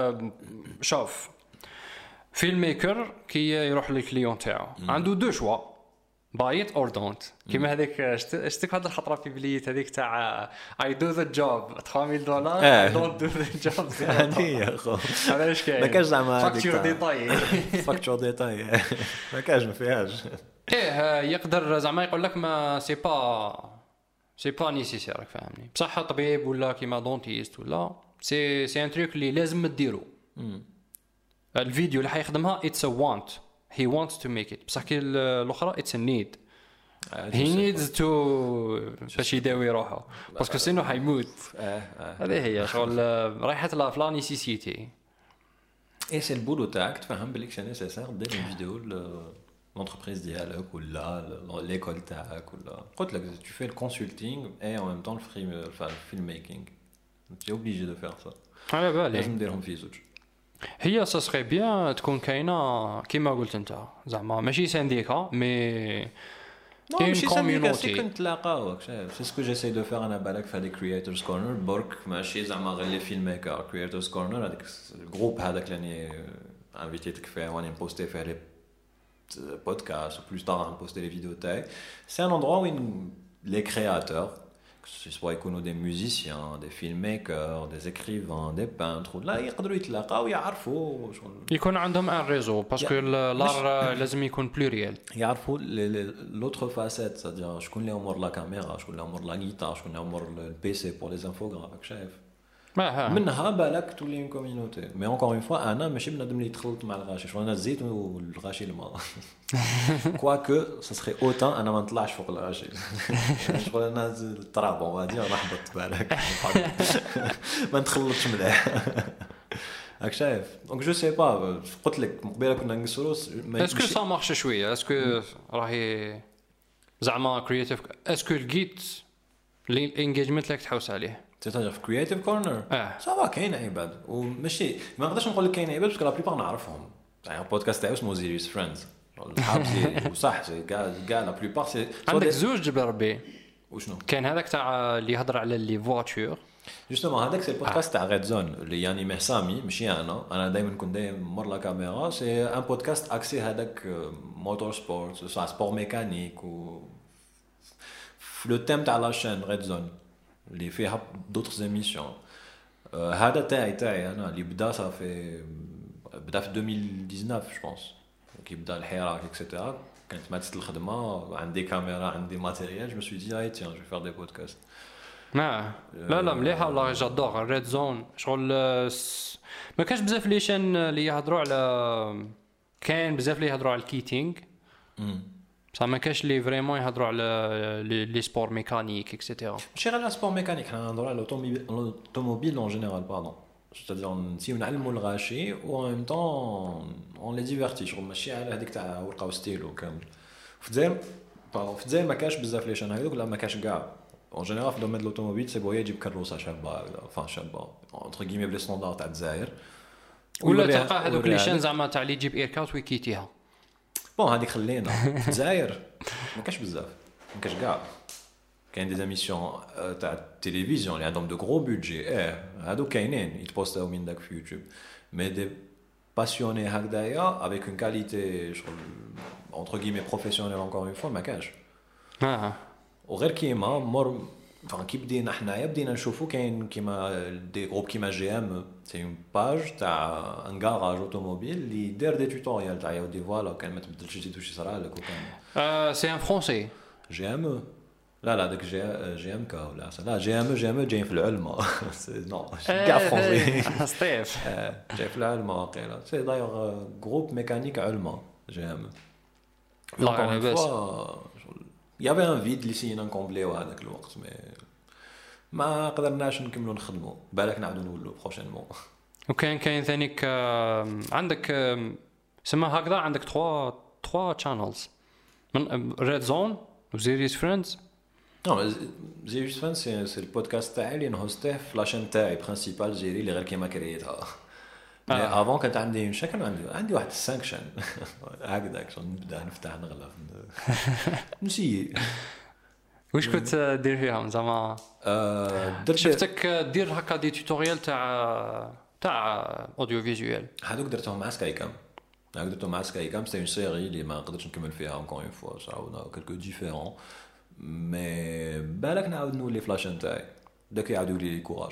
شوف فيلم ميكر كي يروح للكليون تاعو عنده دو شوا بايت اور دونت كيما هذيك شتك هاد الخطره في بليت هذيك تاع اي دو ذا جوب $3,000 دونت دو ذا جوب هذه اخو علاش كاين ما كاش زعما فاكتور ديتاي فاكتور ديتاي ما كاش ما فيهاش يقدر زعما يقول لك ما سي با نيسيسير فاهمني بصح طبيب ولا كيما دونتيست ولا سي ان تريك اللي لازم ديرو الفيديو اللي حيخدمها اتس ا وانت he wants to make it بصح كي الاخرى it's a need he needs to باش يداوي روحه باسكو سينو حيموت هذه هي شغل رايحه لا فلا نيسيسيتي اي سي البولو تاعك تفهم بليك سي نيسيسير دير فيديو l'entreprise ديالك ولا ليكول تاعك ولا قلت لك tu fais le consulting et en même temps le film making tu es obligé de faire ça على بالي لازم نديرهم في زوج هي ساسخي بيان تكون كاينه كيما قلت انت زعما ماشي سانديكا مي كاين كوميونيتي كنت تلاقاوك شايف سي سكو جيساي دو فير انا بالك في هذيك كرييتورز كورنر برك ماشي زعما غير لي فيلم ميكر كرييتورز كورنر هذاك الجروب هذاك اللي انفيتيتك فيه واني بوستي فيه لي بودكاست بلوس طار نبوستي لي فيديو تاعي سي ان اندرو وين لي كرياتور سواء يكونوا دي ميوزيسيان دي فيلم ميكر دي اكريفان دي بانتر لا يقدروا يتلاقاو يعرفوا يكون عندهم ان ريزو باسكو لار لازم يكون بلوريال يعرفوا لوتر فاسيت سادير شكون اللي امور لا كاميرا شكون اللي امور لا غيتار شكون اللي امور البي سي بور لي انفوغراف شايف منها بالك تولي اون كوميونيتي مي اونكور اون فوا انا ماشي بنادم اللي يتخلط مع الغاشي شغل انا الزيت والغاشي الماء كواكو سا سخي اوتان انا ما نطلعش فوق الغاشي شغل انا التراب اون غادي نحبط بالك ما نتخلطش مليح راك شايف دونك جو سي با قلت لك مقبله كنا نقصروا اسكو سا مارش شويه اسكو راهي زعما كرياتيف اسكو لقيت الانجيجمنت اللي تحوس عليه تتاجر في كرياتيف كورنر صافا كاين عباد وماشي ما نقدرش نقول لك كاين عباد باسكو لا بليبار نعرفهم يعني البودكاست تاعو اسمه زيريس فريندز الحابسي وصح كاع لا بليبار سي عندك زوج بربي وشنو كاين هذاك تاع اللي يهضر على لي فواتور جوستومون هذاك سي البودكاست تاع ريد زون اللي يعني محسامي ماشي انا دائما كنت دايما مور لا كاميرا سي ان بودكاست اكسي هذاك موتور سبورت سبور ميكانيك و لو تيم تاع لا شين ريد زون اللي فيها دوطر زيميسيون هذا تاعي انا اللي بدا صافي بدا في 2019 جو بونس كي بدا الحراك اكسيتيرا كانت ماتت الخدمه عندي كاميرا عندي ماتيريال جو سوي دي تيان جو فير دي بودكاست لا مليحه والله جادور ريد زون شغل ما كاش بزاف لي شان اللي يهضروا على كاين بزاف اللي يهضروا على الكيتينغ بصح ما كاش لي فريمون يهضروا على لي سبور ميكانيك اكسيتيرا ماشي غير سبور ميكانيك حنا نهضروا على الاوتوموبيل اون جينيرال باردون c'est-à-dire نسيو نعلموا الغاشي و en même temps on les divertit شغل ماشي على هذيك تاع ورقه وستيلو كامل في الجزائر ما كاش بزاف لي شان هذوك لا ما كاش كاع اون جينيرال في دومين الاوتوموبيل سي بويا يجيب كروسه شابه فان شابه اونتر كيمي بلي ستاندار تاع الجزائر ولا تلقى هذوك لي شان زعما تاع اللي يجيب ايركاوت ويكيتيها بون هذيك خلينا في الجزائر ما كاش بزاف ما كاش كاع كاين دي زيميسيون تاع التلفزيون اللي عندهم دو غرو بودجي هادو كاينين يتبوستاو من داك في يوتيوب مي دي باسيوني هكذايا افيك اون كاليتي شغل اونتر كيمي بروفيسيونيل انكور اون فوا ما كاش وغير كيما مور كي بدينا حنايا بدينا نشوفوا كاين كيما دي جروب كيما جي ام سي اون باج تاع ان غاراج اوتوموبيل اللي دار دي توتوريال تاع يودي فوالا كان ما تبدلش شي توشي صرا لك وكان سي ان فرونسي جي ام لا داك جي ام كا ولا لا جي ام جايين في العلمه نو كاع فرونسي ستيف جاي في العلمه واقيلا سي دايوغ جروب ميكانيك علمه جي ام لا انا بس يافي ان فيد اللي سينا نكومبليو هذاك الوقت مي ما قدرناش نكملوا نخدموا بالك نعاودوا نولوا بروشينمون وكاين ثانيك عندك سما هكذا عندك 3 channels من ريد زون وزيريس فريندز نو زيريس فريندز سي البودكاست تاعي اللي نهوستيه في لاشين تاعي برينسيبال جيري اللي غير كيما كريتها مي افون كانت عندي عندي واحد 5 شان هكذاك نبدا نفتح نغلف نسي واش كنت دير فيهم زعما شفتك دير هكا دي توتوريال تاع اوديو فيزوال هذوك درتهم مع سكاي كام سي اون سيري اللي ما قدرتش نكمل فيها اونكور اون فوا صراحه كلكو ديفيرون مي بالك نعاود نولي فلاشين تاعي داك يعاودوا لي كوراج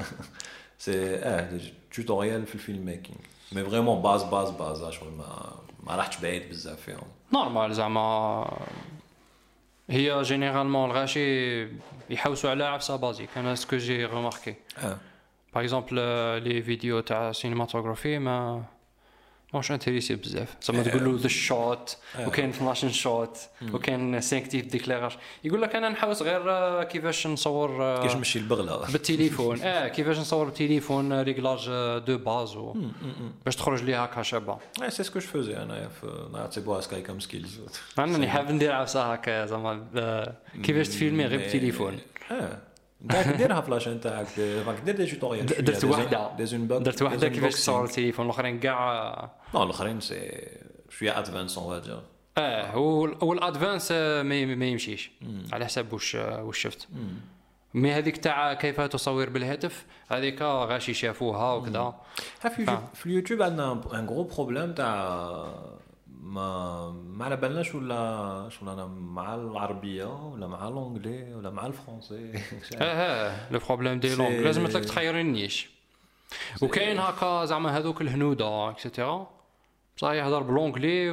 سي توتوريال في الفيلم ميكينغ مي فريمون باز شغل ما راحتش بعيد بزاف فيهم نورمال زعما هي جينيرالمون الغاشي يحوسوا على عفسه بازيك انا سكو جي ريماركي باغ اكزومبل لي فيديو تاع سينماتوغرافي ما ماش انتريسي بزاف زعما تقول له ذا شوت وكاين 12 شوت وكاين 5 تيب ديكليراج يقول لك انا نحوس غير كيفاش نصور كيفاش نمشي البغله بالتليفون كيفاش نصور بالتليفون ريغلاج دو باز باش تخرج لي هكا شابه سي سكو جو فوزي انا في نعتبرها سكاي كام سكيلز انا حاب ندير عفسه هكا زعما كيفاش تفيلمي غير بالتليفون داك ديرها فلاشين تاعك راك دير دي توتوريال درت وحده كيفاش تصور التليفون الاخرين كاع نو الاخرين سي شويه ادفانس اون فادير هو الادفانس ما يمشيش على حسب واش شفت مي هذيك تاع كيف تصور بالهاتف هذيك غاشي شافوها وكذا في اليوتيوب عندنا ان غرو بروبليم تاع ما على بالناش ولا انا مع العربيه ولا مع الانجلي ولا مع الفرنسي لو بروبليم دي لونغ لازم لك تخير النيش وكاين هكا زعما هذوك الهنوده اكسيتيرا بصح يهضر بالانجلي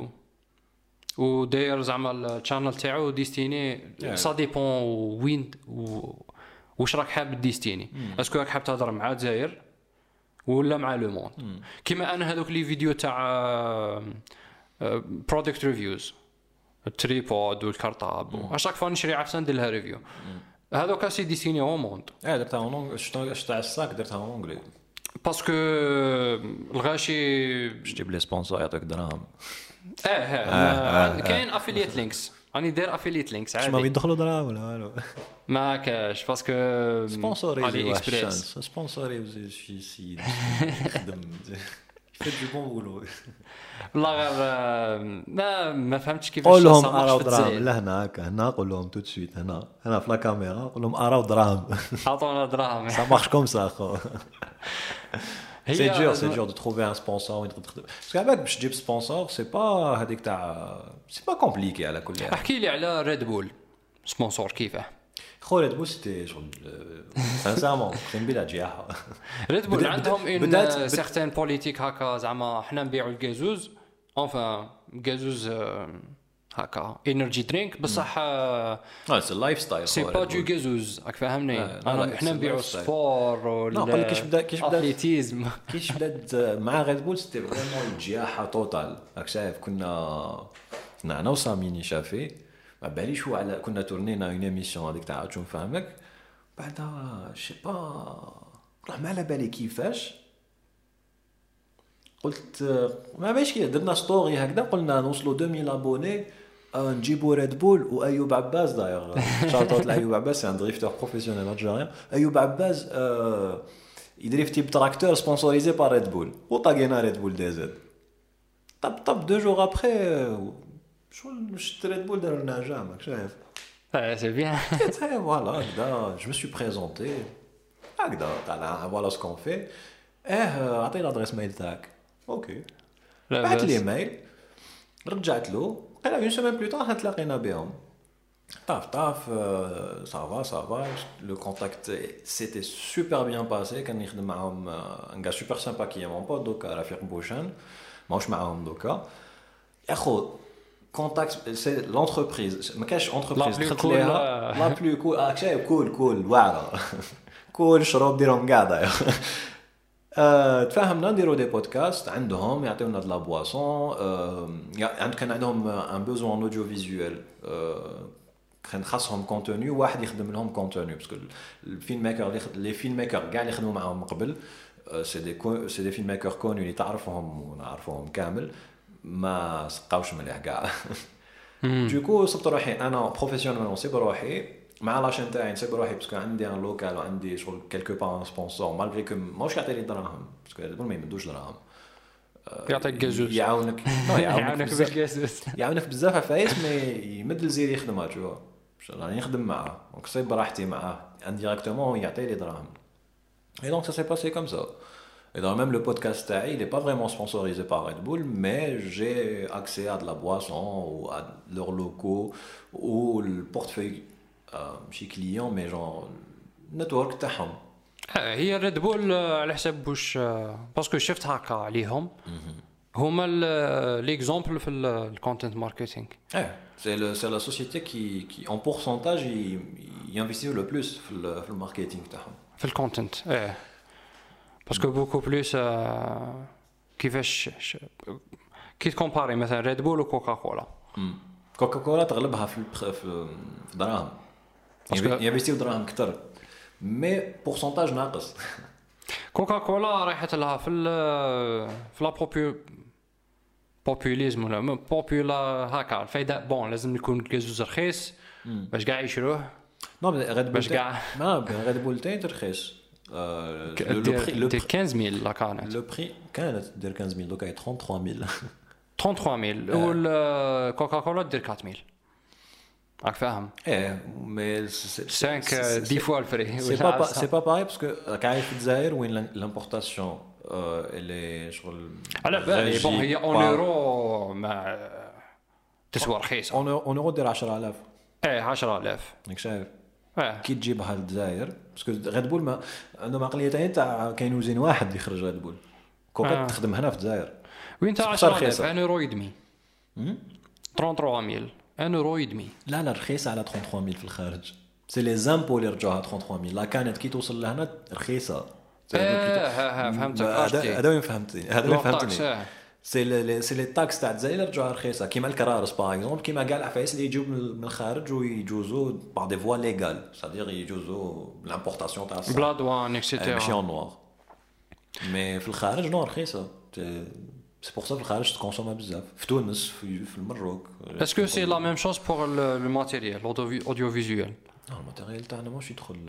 وداير زعما الشانل تاعو ديستيني سا ديبون وين واش راك حاب ديستيني اسكو راك حاب تهضر مع الجزائر ولا مع لو موند كيما انا هذوك لي فيديو تاع برودكت ريفيوز التريبود والكارطاب اشاك فوا نشري عفسه ندير لها ريفيو هذوك سي ديسيني او موند درتها اون تاع الساك درتها اون انجلي باسكو الغاشي جيب لي سبونسور يعطيك دراهم كاين افيليت لينكس راني داير افيليت لينكس عادي ما يدخلوا دراهم ولا والو ما كاش باسكو سبونسوري اكسبريس سبونسوري شي سي خدم فيت دو بون بولو والله غير ما فهمتش كيفاش قول لهم اراو دراهم لا هنا قول لهم تو سويت هنا في لا كاميرا قول لهم اراو دراهم عطونا دراهم ça marche comme ça خو سي dur de trouver un sponsor وين تخدم باسكو عباك باش تجيب سبونسور سي با هذيك تاع سي با كومبليكي على كل حال احكي لي على ريد بول سبونسور كيفاه خو ريد بول سيتي شغل سانسامون كان بلا جياحه ريد بول عندهم ان سيغتان بوليتيك هكا زعما حنا نبيعوا الغازوز انفان غازوز هكا انرجي درينك بصح سي لايف ستايل سي با دو غازوز راك فاهمني حنا نبيعوا السبور ولا كيش بدا اتليتيزم كيش بدات مع ريد بول سيتي فريمون الجياحه توتال راك شايف كنا انا وساميني شافي ما باليش على كنا تورنينا اون ايميسيون هذيك تاع شنو فهمك بعدها شي با روح ما على بالي كيفاش قلت ما باش كي درنا ستوري هكذا قلنا نوصلوا 2000 ابوني نجيبوا ريد بول وايوب عباس داير شاطوت لايوب عباس ان دريفتور بروفيسيونيل الجزائري ايوب عباس يدريفتي بتراكتور سبونسوريزي بار ريد بول وطاقينا ريد بول دي زد طب 2 جور ابري شو شفت ريد بول داروا لنا جامك شايف سي بيان فوالا هكذا جو مي سوي بريزونتي هكذا تاع فوالا سكون في عطيني الادريس ميل تاعك اوكي بعث لي ميل رجعت له قال اون سيمين بلو طار تلاقينا بهم طاف ça va le contact s'était super bien passé كان يخدم معاهم un gars super sympa qui est mon pote دوكا رفيق بوشان ماهوش معاهم دوكا يا خو contact c'est l'entreprise ما كاش entreprise دخلت ليها لا بلو كول شايف كول واعره كول شروب ديرهم قاعده تفاهمنا نديرو دي بودكاست عندهم يعطيونا د لا بواسون كان عندهم ان بوزوان اوديو فيزوال كان خاصهم كونتوني واحد يخدم لهم كونتوني باسكو الفيلم ميكر لي فيلم ميكر كاع اللي خدموا معاهم قبل سي دي فيلم ميكر كوني اللي تعرفهم ونعرفهم كامل ما سقاوش مليح كاع دوكو صبت روحي انا بروفيسيونيل نصيب روحي مع لاشين تاعي نسيب روحي باسكو عندي ان لوكال وعندي شغل كيلكو بار سبونسور مالغري كو ماهوش يعطي لي دراهم باسكو ما يمدوش دراهم يعطيك جازوس يعاونك يعاونك بزاف عفايس مي يمد الزير يخدمها تشوف راني نخدم معاه دونك صيب براحتي معاه انديريكتومون يعطي لي دراهم et donc ça s'est passé comme ça et dans même le podcast تاعي il est pas vraiment sponsorisé par Red Bull mais j'ai accès à de la boisson ou à leurs locaux ou le portefeuille chez clients mais genre network تاعهم هي ريد بول على حساب واش باسكو شفت هكا عليهم هما ليكزامبل في الكونتنت ماركتينغ c'est la société qui en pourcentage il investit le plus في الماركتينغ تاعهم في الكونتنت باسكو بوكو بلوس كيفاش كي تكومباري مثلا ريد بول وكوكا كولا كوكا كولا تغلبها في دراهم ينفيستيو دراهم اكثر مي بورسنتاج ناقص كوكا كولا رايحه لها في لا بوبوليزم ولا بوبولا هكا الفايده بون لازم يكون كازوز رخيص باش كاع يشروه نو ريد بول باش كاع ما ريد بول تاعي رخيص لو بري 15000 لا كانت لو بري كانت دير 15000 دوكا 33000 33000 والكوكا كولا دير 4000 راك فاهم مي 5 10 fois الفري سي با باغي باسكو راك عايش في الجزائر وين لامبورطاسيون اللي شغل على بالي بون هي اون اورو ما تسوى رخيصه اون اورو دير 10000 10000 راك شايف كي تجيبها للجزائر باسكو ريد بول ما عندهم عقليه تاع كاين وزين واحد يخرج ريد بول كوكا تخدم هنا في الجزائر وين تاع 10000 1 اورو يدمي 33000 1 اورو يدمي لا رخيصه على 33000 في الخارج سي لي زامبو اللي رجعوها 33000 لا كانت كي توصل لهنا رخيصه فهمتك هذا وين فهمتني سي لي تاكس تاع الجزائر رجعوها رخيصه كيما الكرارس باغ اكزومبل كيما كاع العفايس اللي يجيو من الخارج ويجوزوا باغ دي فوا ليغال صدير يجوزوا لامبورطاسيون تاع بلا دوان اكسيتيرا ماشي اون نوار مي في الخارج نو رخيصه سي بور سا في الخارج تكونسومها بزاف في تونس في المروك اسكو سي لا ميم شوز بور لو ماتيريال اوديو فيزوال الماتيريال تاعنا ماشي يدخل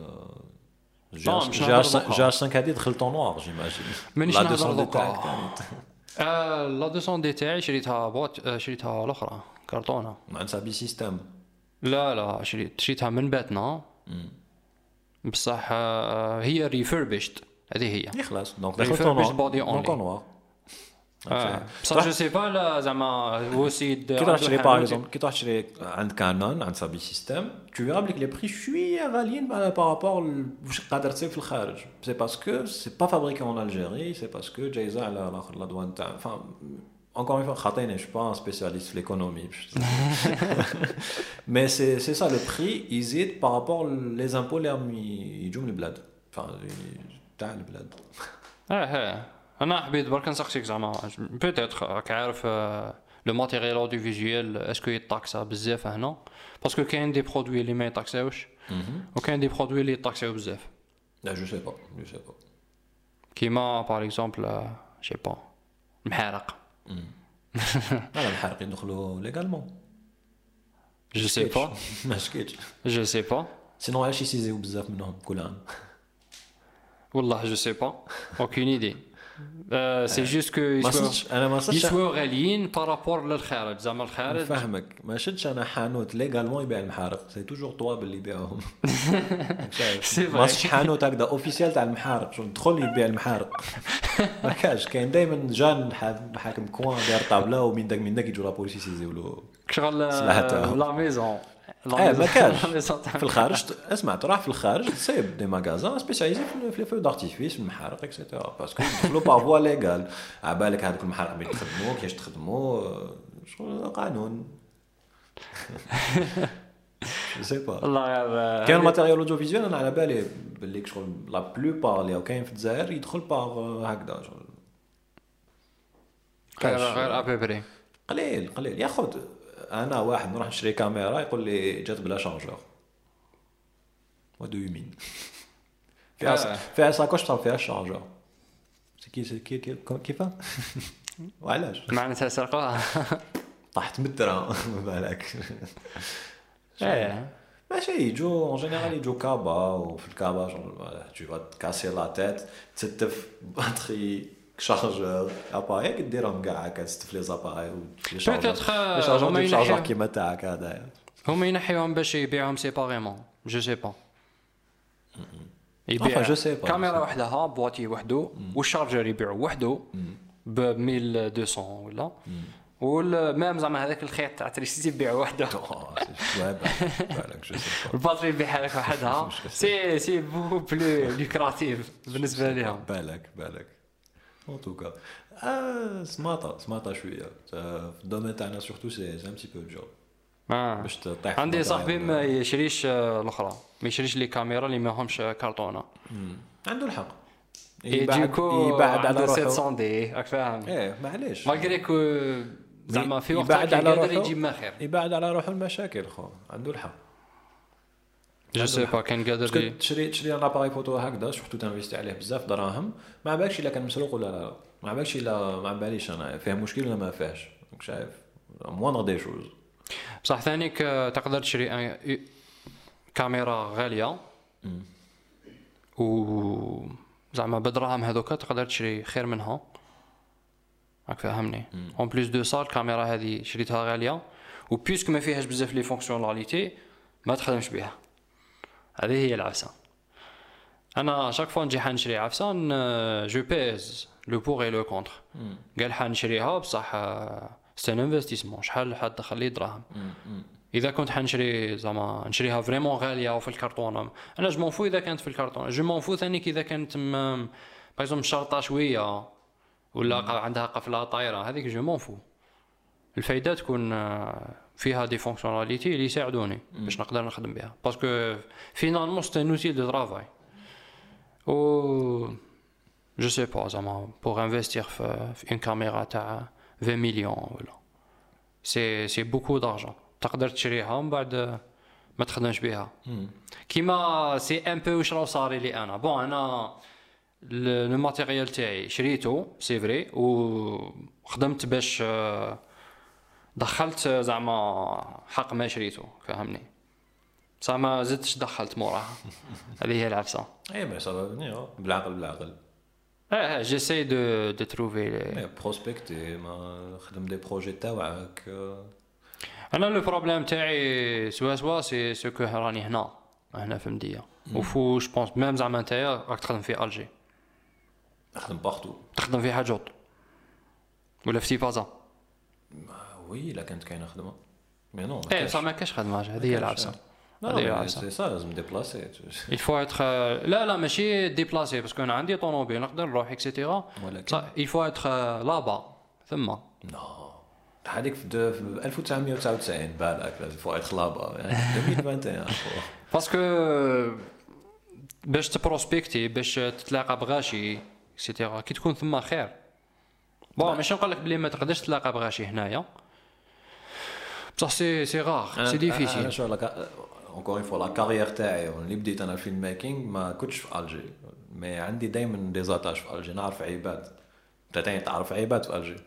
جا 5 هادي دخلت اون نوار جيماجين لا 200 تاعك لا 200 دي تاعي شريتها الاخرى كرتونه مع سابي سيستم لا شريتها من باتنا بصح هي ريفربشت هذه هي خلاص دونك دخلت اون نوار بصح جو سي با لا زعما هو سيد كي تروح تشري باغ اكزومبل كي تروح تشري عند كانون عند سابي سيستم تو فيرا بليك لي بري شويه غاليين بارابور واش قادر تصيب في الخارج سي باسكو سي با فابريكي اون الجيري سي باسكو جايزه على الاخر لا دوان تاع encore une fois خاطيني je suis pas un spécialiste في l'économie mais c'est ça le prix يزيد par rapport les impôts اللي يجوا من البلاد تاع البلاد انا حبيت برك نسقسيك زعما بيتيتر راك عارف لو ماتيريال اوديو فيزوال اسكو يطاكسا بزاف هنا باسكو كاين دي برودوي اللي ما يطاكساوش وكاين دي برودوي اللي يطاكساو بزاف لا جو سي با كيما باغ اكزومبل جي با المحارق انا المحارق يدخلوا ليغالمون جو سي با ما شكيتش جو سي با سينو علاش يسيزيو بزاف منهم كل عام والله جو سي با اوكين ايدي سي جوست كو انا ما صدقش يسووا غاليين بارابور للخارج زعما الخارج فاهمك ما شدش انا حانوت ليغالمون يبيع المحارق سي توجور طواب اللي يبيعهم ما صدقش حانوت هكذا اوفيسيال تاع المحارق شو ندخل يبيع المحارق ما كاش كاين دائما جان حاكم كوان داير طابله ومن داك يجوا لا بوليس يسيزيو له شغل لا ميزون ما كاش في الخارج. اسمع تروح في الخارج تصيب دي ماغازان سبيسياليزي في لي فو دارتيفيس في المحارق اكسيتيرا باسكو يدخلوا با فوا ليغال. عبالك هذوك المحارق اللي يخدموا كيفاش تخدموا شغل قانون. جو سي با والله كاين ماتيريال اوديو فيزيوال انا على بالي باللي شغل لا بلوبار اللي كاين في الجزائر يدخل باغ هكذا شغل غير ابيبري قليل ياخذ. انا واحد نروح نشري كاميرا يقول لي جات بلا شارجور. وات دو يو مين فيها ساكوش طاب فيها الشارجور كيفاه وعلاش معناتها سرقوها طاحت مترا بالك. ماشي يجو اون جينيرال يجو كابا وفي الكابا tu vas casser la tête تستف باتري شارجور اباي كديرهم كاع هكا تستف لي زاباي لي شارجور كيما تاعك هذا هما ينحيوهم باش يبيعوهم سيباريمون. جو سي با يبيع كاميرا وحدها بواتي وحده والشارجر يبيعوا وحده ب 1200 ولا والمام زعما هذاك الخيط تاع تريسيتي يبيعوا وحده. الباتري يبيعها لك وحدها. سي بو بلو لوكراتيف بالنسبه لهم. بالك en tout cas سماطه شويه في الدومين تاعنا سورتو سي ان بتي بو جور. باش تطيح. عندي صاحبي ما يشريش الاخرى ما يشريش لي كاميرا اللي ماهمش كارطونه. عنده الحق يبعد على 700 دي راك فاهم. معليش ماغري كو زعما في وقت يقدر يجيب ما خير. يبعد على روحه المشاكل خو عنده الحق. جو سي با كان قادر تشري ان اباري فوتو هكذا شفتو تنفيستي عليه بزاف دراهم ما بالكش الا كان مسروق ولا لا. ما بالكش الا ما باليش انا فيه مشكل ولا ما فيهش. دونك شايف موان دي شوز. بصح ثانيك تقدر تشري كاميرا غاليه و زعما بدراهم هذوك تقدر تشري خير منها. راك فاهمني. اون بليس دو سا الكاميرا هذه شريتها غاليه وبيسك ما فيهاش بزاف لي فونكسيوناليتي ما تخدمش بها. هذه هي العفسه. انا شاك فوا نجي حنشري عفسه جو بيز لو بور اي لو كونتر. قال حنشريها بصح سي ان انفستيسمون شحال حتدخل لي دراهم. اذا كنت حنشري زعما نشريها فريمون غاليه وفي الكرتونه انا جو مونفو اذا كانت في الكرتونه جو مونفو ثاني اذا كانت باغ شرطه شويه ولا عندها قفله طايره هذيك جو مونفو. الفايده تكون فيها دي فونكسيوناليتي اللي يساعدوني باش نقدر نخدم بها باسكو فينالمون سي ان اوتيل دو طرافاي و جو سي با زعما بور انفستير في اون كاميرا تاع 20 مليون ولا سي بوكو دارجون تقدر تشريها من بعد ما تخدمش بها. كيما سي ان بو واش راه صاري لي انا بون انا لو ماتيريال تاعي شريته سي فري وخدمت باش دخلت زعما حق ما شريته فهمني بصح ما زدتش دخلت موراها. هذه هي العفسه. ما صافي بالعقل جيساي دو تروفي بروسبكتي ما خدم دي بروجي تاعك. انا لو بروبليم تاعي سوا سي سو كو راني هنا في مديه وفو جو بونس ميم زعما نتايا راك تخدم في الجي تخدم بارتو تخدم في حاجات ولا في بازا. وي لا كانت كاينه خدمه مي نو بصح ما كاش خدمه. هذه هي العفسه. هذه هي العفسه. سي سا لازم ديبلاسي il faut être لا ماشي ديبلاسي باسكو انا عندي طوموبيل نقدر نروح اكسيتيرا صح il faut être là-bas ثم نو هذيك في 1999 بالك لازم فوا être là-bas يعني 2021 باسكو باش تبروسبكتي باش تتلاقى بغاشي اكسيتيرا كي تكون ثم خير. بون ماشي نقول لك بلي ما تقدرش تلاقى بغاشي هنايا بصح سي غار سي ديفيسيل. انا شو لك اونكور اون فوا لا كارير تاعي اللي بديت انا الفيلم ميكينغ ما كنتش في الجي مي عندي دائما دي زاتاج في الجي نعرف عباد تاني تعرف عباد في الجي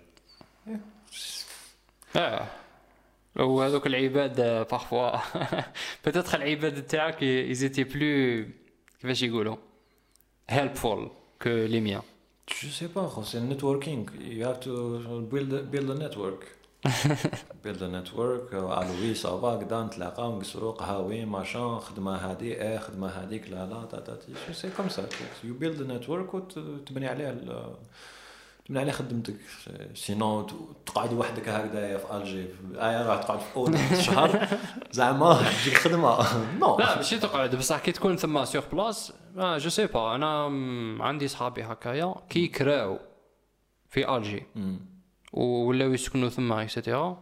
وهذوك العباد بارفوا بتدخل العباد تاعك يزيتي بلو كيفاش يقولوا helpful que les miens. Je sais pas, c'est networking. You have to build a network. build a network. Alors oui, ça va. قدام نتلاقاو نقصروا قهاوي ماشان خدمة هذه خدمة هذيك لا تاتي. C'est comme ça. You build a network وتبني عليه من على خدمتك سينو تقعد وحدك هكذا في الجي راه تقعد في اوضه شهر زعما تجيك خدمه نو لا ماشي تقعد بصح كي تكون ثما سيغ بلاص جو سي با انا عندي صحابي هكايا كي كراو في الجي ولاو يسكنوا ثما اكسيتيرا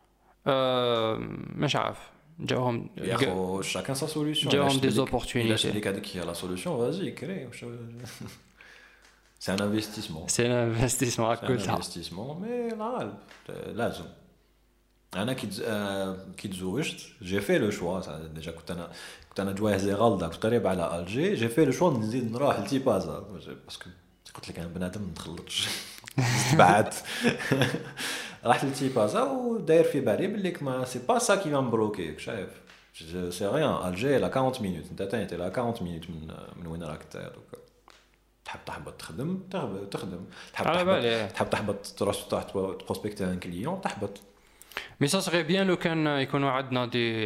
مش عارف جاهم ياخو شاكان سا سوليوشن جاهم دي زوبورتونيتي اللي هذيك هي لا سوليوشن فازي كري سي ان انفستيسمون سي ان انفستيسمون كلها انفستيسمون مي لا لازم انا كي تزوجت جي في لو شوا ديجا كنت انا جواهزي غلطه كنت قريب على الجي جي في لو شوا نزيد نروح لتيبازا باسكو قلت لك انا بنادم ما نتخلطش تبعت رحت لتيبازا وداير في بالي بلي ما سي با سا كي فان بلوكي شايف سي ريان الجي لا 40 مينوت انت تاني لا 40 مينوت من وين راك انت دوكا تحب تحبط تخدم تخدم تحب تحبط تروح تبروسبكتي ان كليون تحبط مي سا سغي بيان لو كان يكونوا عندنا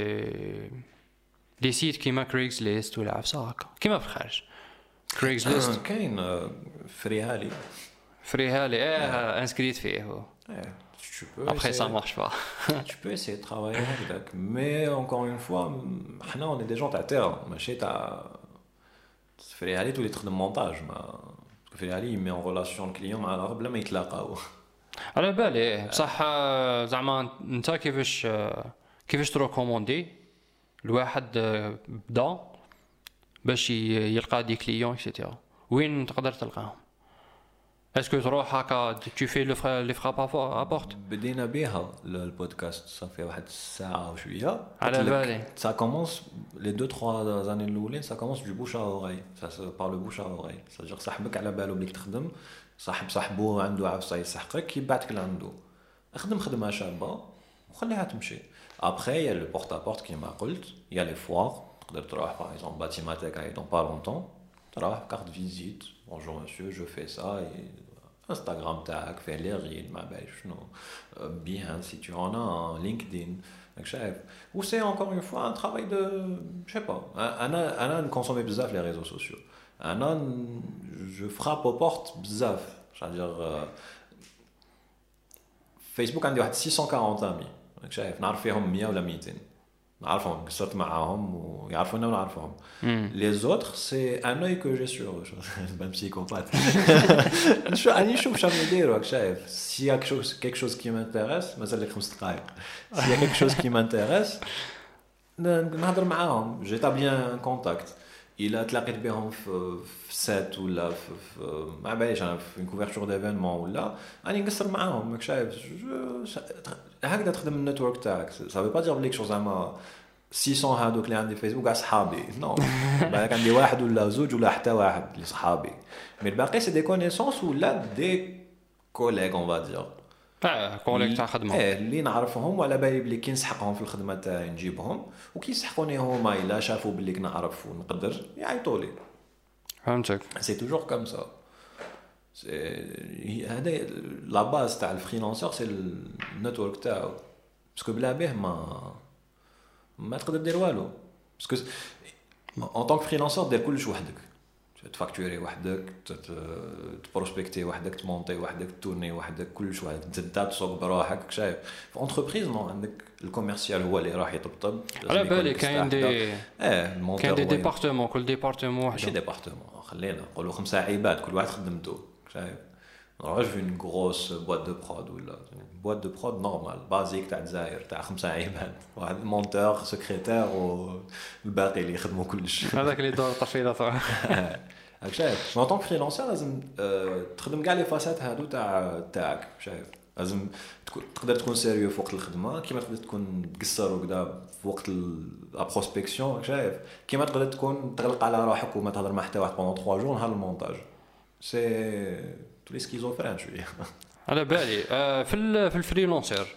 دي سيت كيما كريغز ليست ولا عفسه هكا كيما في الخارج كريغز ليست كاين فريهالي انسكريت فيه هو tu peux après ça marche pas tu peux essayer de travailler avec mais encore une fois حنا on est des gens تاع terre ماشي تاع فريهالي تولي تخدم مونتاج ما فريهالي يمي en relation الكليون مع الغرب بلا ما يتلاقاو على بالي بصح زعما انت كيفاش تروكوموندي الواحد بدا باش يلقى دي كليون اكسيتيرا وين تقدر تلقاهم اسكو تروح هكا tu fais لي فراب ابورت بدينا بها البودكاست صافي واحد الساعه وشويه على بالي ça commence les 2-3 années الاولين ça commence du bouche à oreille ça se parle bouche à oreille c'est-à-dire صاحبك على باله بليك تخدم صاحبه عنده عفسه يسحقك يبعثك لعنده اخدم خدمه شابه وخليها تمشي après il y a le porte à porte كيما قلت il y a les foires تقدر تروح par exemple Batimatek dans pas longtemps تروح carte visite bonjour monsieur je fais ça et Instagram تاعك فيه لي ريل ما بالي شنو bien si tu en as un LinkedIn donc chef ou c'est encore une fois un travail de je sais pas انا نكونسومي بزاف les réseaux sociaux انا je frappe aux portes بزاف c'est-à-dire فيسبوك عندي واحد 640 امي شايف نعرف فيهم 100 ولا 200 نعرفهم قصرت معاهم ويعرفونا ونعرفهم لي زوتر سي ان اوي كو جي سور بان بسيكوبات شو اني نشوف شنو يديروا شايف سي يا كيك شوز كي مانتيريس مازال لك 5 دقائق سي يا كيك شوز كي مانتيريس نهضر معاهم جيتابليان كونتاكت الا تلاقيت بهم في سات ولا في ما باليش انا في كوفرتور ديفينمون ولا راني نقصر معاهم ماك شايف هكذا تخدم النتورك تاعك صافي با دير بليك شو زعما 600 هادوك اللي عندي فيسبوك كاع صحابي نو بالك عندي واحد ولا زوج ولا حتى واحد اللي صحابي مي الباقي سي دي كونيسونس ولا دي كوليغ اون فا دير كوليغ تاع خدمه اللي نعرفهم وعلى بالي بلي كي نسحقهم في الخدمه تاعي نجيبهم وكي يسحقوني هما الا شافوا بلي نعرف ونقدر يعيطوا لي فهمتك سي توجور كوم سا هذا لا باز تاع الفريلانسر سي النتورك تاعو باسكو بلا به ما تقدر دير والو باسكو ان طونك فريلانسر دير كلش وحدك تفاكتوري وحدك تبروسبكتي وحدك تمونطي وحدك تورني وحدك كلش وحدك انت تسوق بروحك شايف في انتربريز نو عندك الكوميرسيال هو اللي راح يطبطب على بالي كاين دي كاين دي ديبارتمون كل ديبارتمون ماشي ديبارتمون خلينا نقولوا 5 عباد كل واحد خدمته شايف نروح في une grosse boîte de prod ولا boîte de prod normal basique تاع الجزائر تاع 5 عباد واحد مونتور سكرتير والباقي اللي يخدموا كلش هذاك اللي دور طفيله هاك شايف ان طونك فريلانسر لازم تخدم كاع لي فاسات هادو تاعك شايف لازم تقدر تكون سيريو في وقت الخدمه كيما تقدر تكون تقصر وكذا في وقت لا بروسبكسيون شايف كيما تقدر تكون تغلق على روحك وما تهضر مع حتى واحد بوندون 3 جور نهار المونتاج سي تولي سكيزوفرين شويه على بالي في الفريلانسر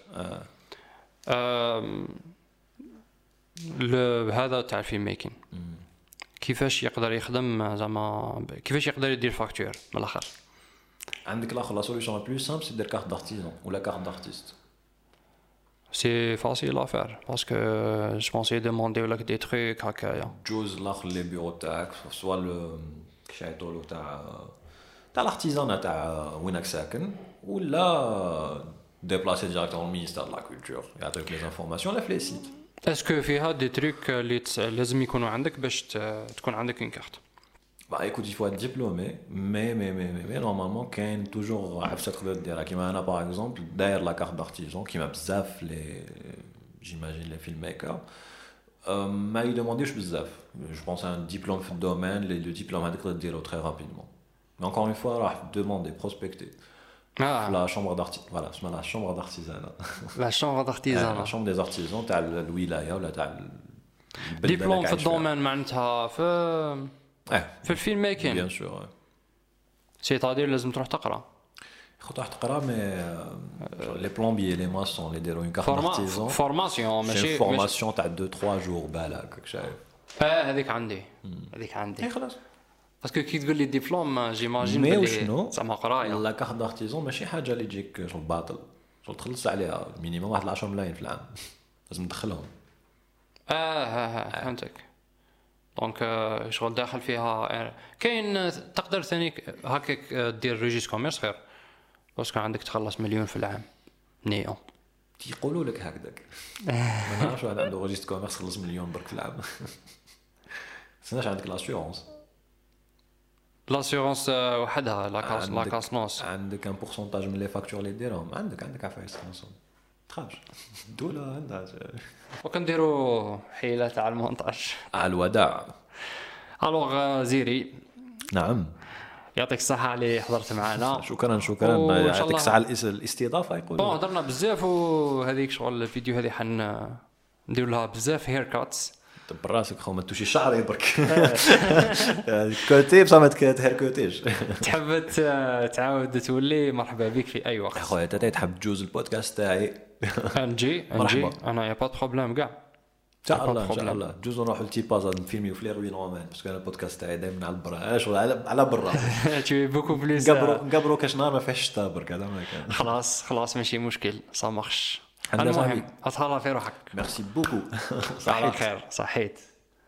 هذا تاع الفيلم ميكين كيفاش يقدر يخدم زعما كيفاش يقدر يدير فاكتور من الاخر عندك الاخر لا سوليوشن لا بلو سامبل سي دير كارت دارتيزون ولا كارت دارتيست سي فاسيل ا فير باسكو جو بونس يدوموندي لك دي تروك هكايا جوز الاخر لي بيرو تاعك سوا كيش يعيطولو تاع تاع الارتيزان تاع وينك ساكن ولا ديبلاسي ديريكتومون المينيستير دو لا كولتور يعطيك لي انفورماسيون لا في لي سيت. اسكو فيها دي تريك اللي لازم يكونوا عندك باش تكون عندك اون كارت؟ Bah écoute, il faut être diplômé, mais normalement, quand toujours à cette dire qui m'a par exemple derrière la carte d'artisan qui m'a bzaf j'imagine les filmmakers, m'a demandé je pense à un diplôme de domaine, le diplôme à dire très rapidement. Mais encore une fois, là, demander, prospecter. La chambre d'artisan, voilà, c'est la chambre d'artisanat. La chambre d'artisan. La chambre des artisans, t'as le wilaya ou t'as diplôme في الدومين معناتها في الفيلم ميكين. بيان سور. سيتادير لازم تروح تقرا. تروح تقرا مي لي بلومبيي لي ماسون اللي يديروا اون كارت دارتيزون فورماسيون ماشي فورماسيون تاع 2-3 جور بالك شايف. هذيك عندي خلاص باسكو كي تقول لي ديبلوم جيماجين بلي زعما قرايه. لا كارت دارتيزون ماشي حاجه اللي تجيك شغل باطل شغل تخلص عليها مينيموم واحد 10 ملايين في العام لازم تدخلهم. فهمتك. دونك شغل داخل فيها كاين تقدر ثاني هكاك دير ريجيس كوميرس خير باسكو عندك تخلص مليون في العام نيو تيقولوا لك هكذاك. ما نعرفش واحد عنده ريجيس كوميرس خلص مليون برك في العام. سناش عندك لاسيورونس وحدها لا كاسنوس عندك ان بورسونتاج من لي فاكتور اللي ديرهم عندك عفايس خلاص تخافش الدولة عندها وكنديروا حيلة تاع المونتاج على الوداع. الوغ زيري نعم يعطيك الصحة اللي حضرت معنا. شكرا يعطيك الصحة الاستضافة. يقولوا هضرنا بزاف وهذيك شغل الفيديو هذه ندير لها بزاف هير كاتس براسك خو ما توشي شعري برك كوتي بصح ما تهركوتيش. تحب تعاود تولي مرحبا بك في اي وقت خويا انت تحب تجوز البودكاست تاعي نجي انا يا با بروبليم كاع ان شاء الله جوز نروحوا لتي باز نفيلميو في ليروين رومان باسكو انا البودكاست تاعي دائما على البرا على برا تي بوكو بليس نقبروا كاش نهار ما فيهش الشتا برك هذا ما كان. خلاص ماشي مشكل صا مارش. المهم اطلع في روحك. ميرسي بوكو. صحيت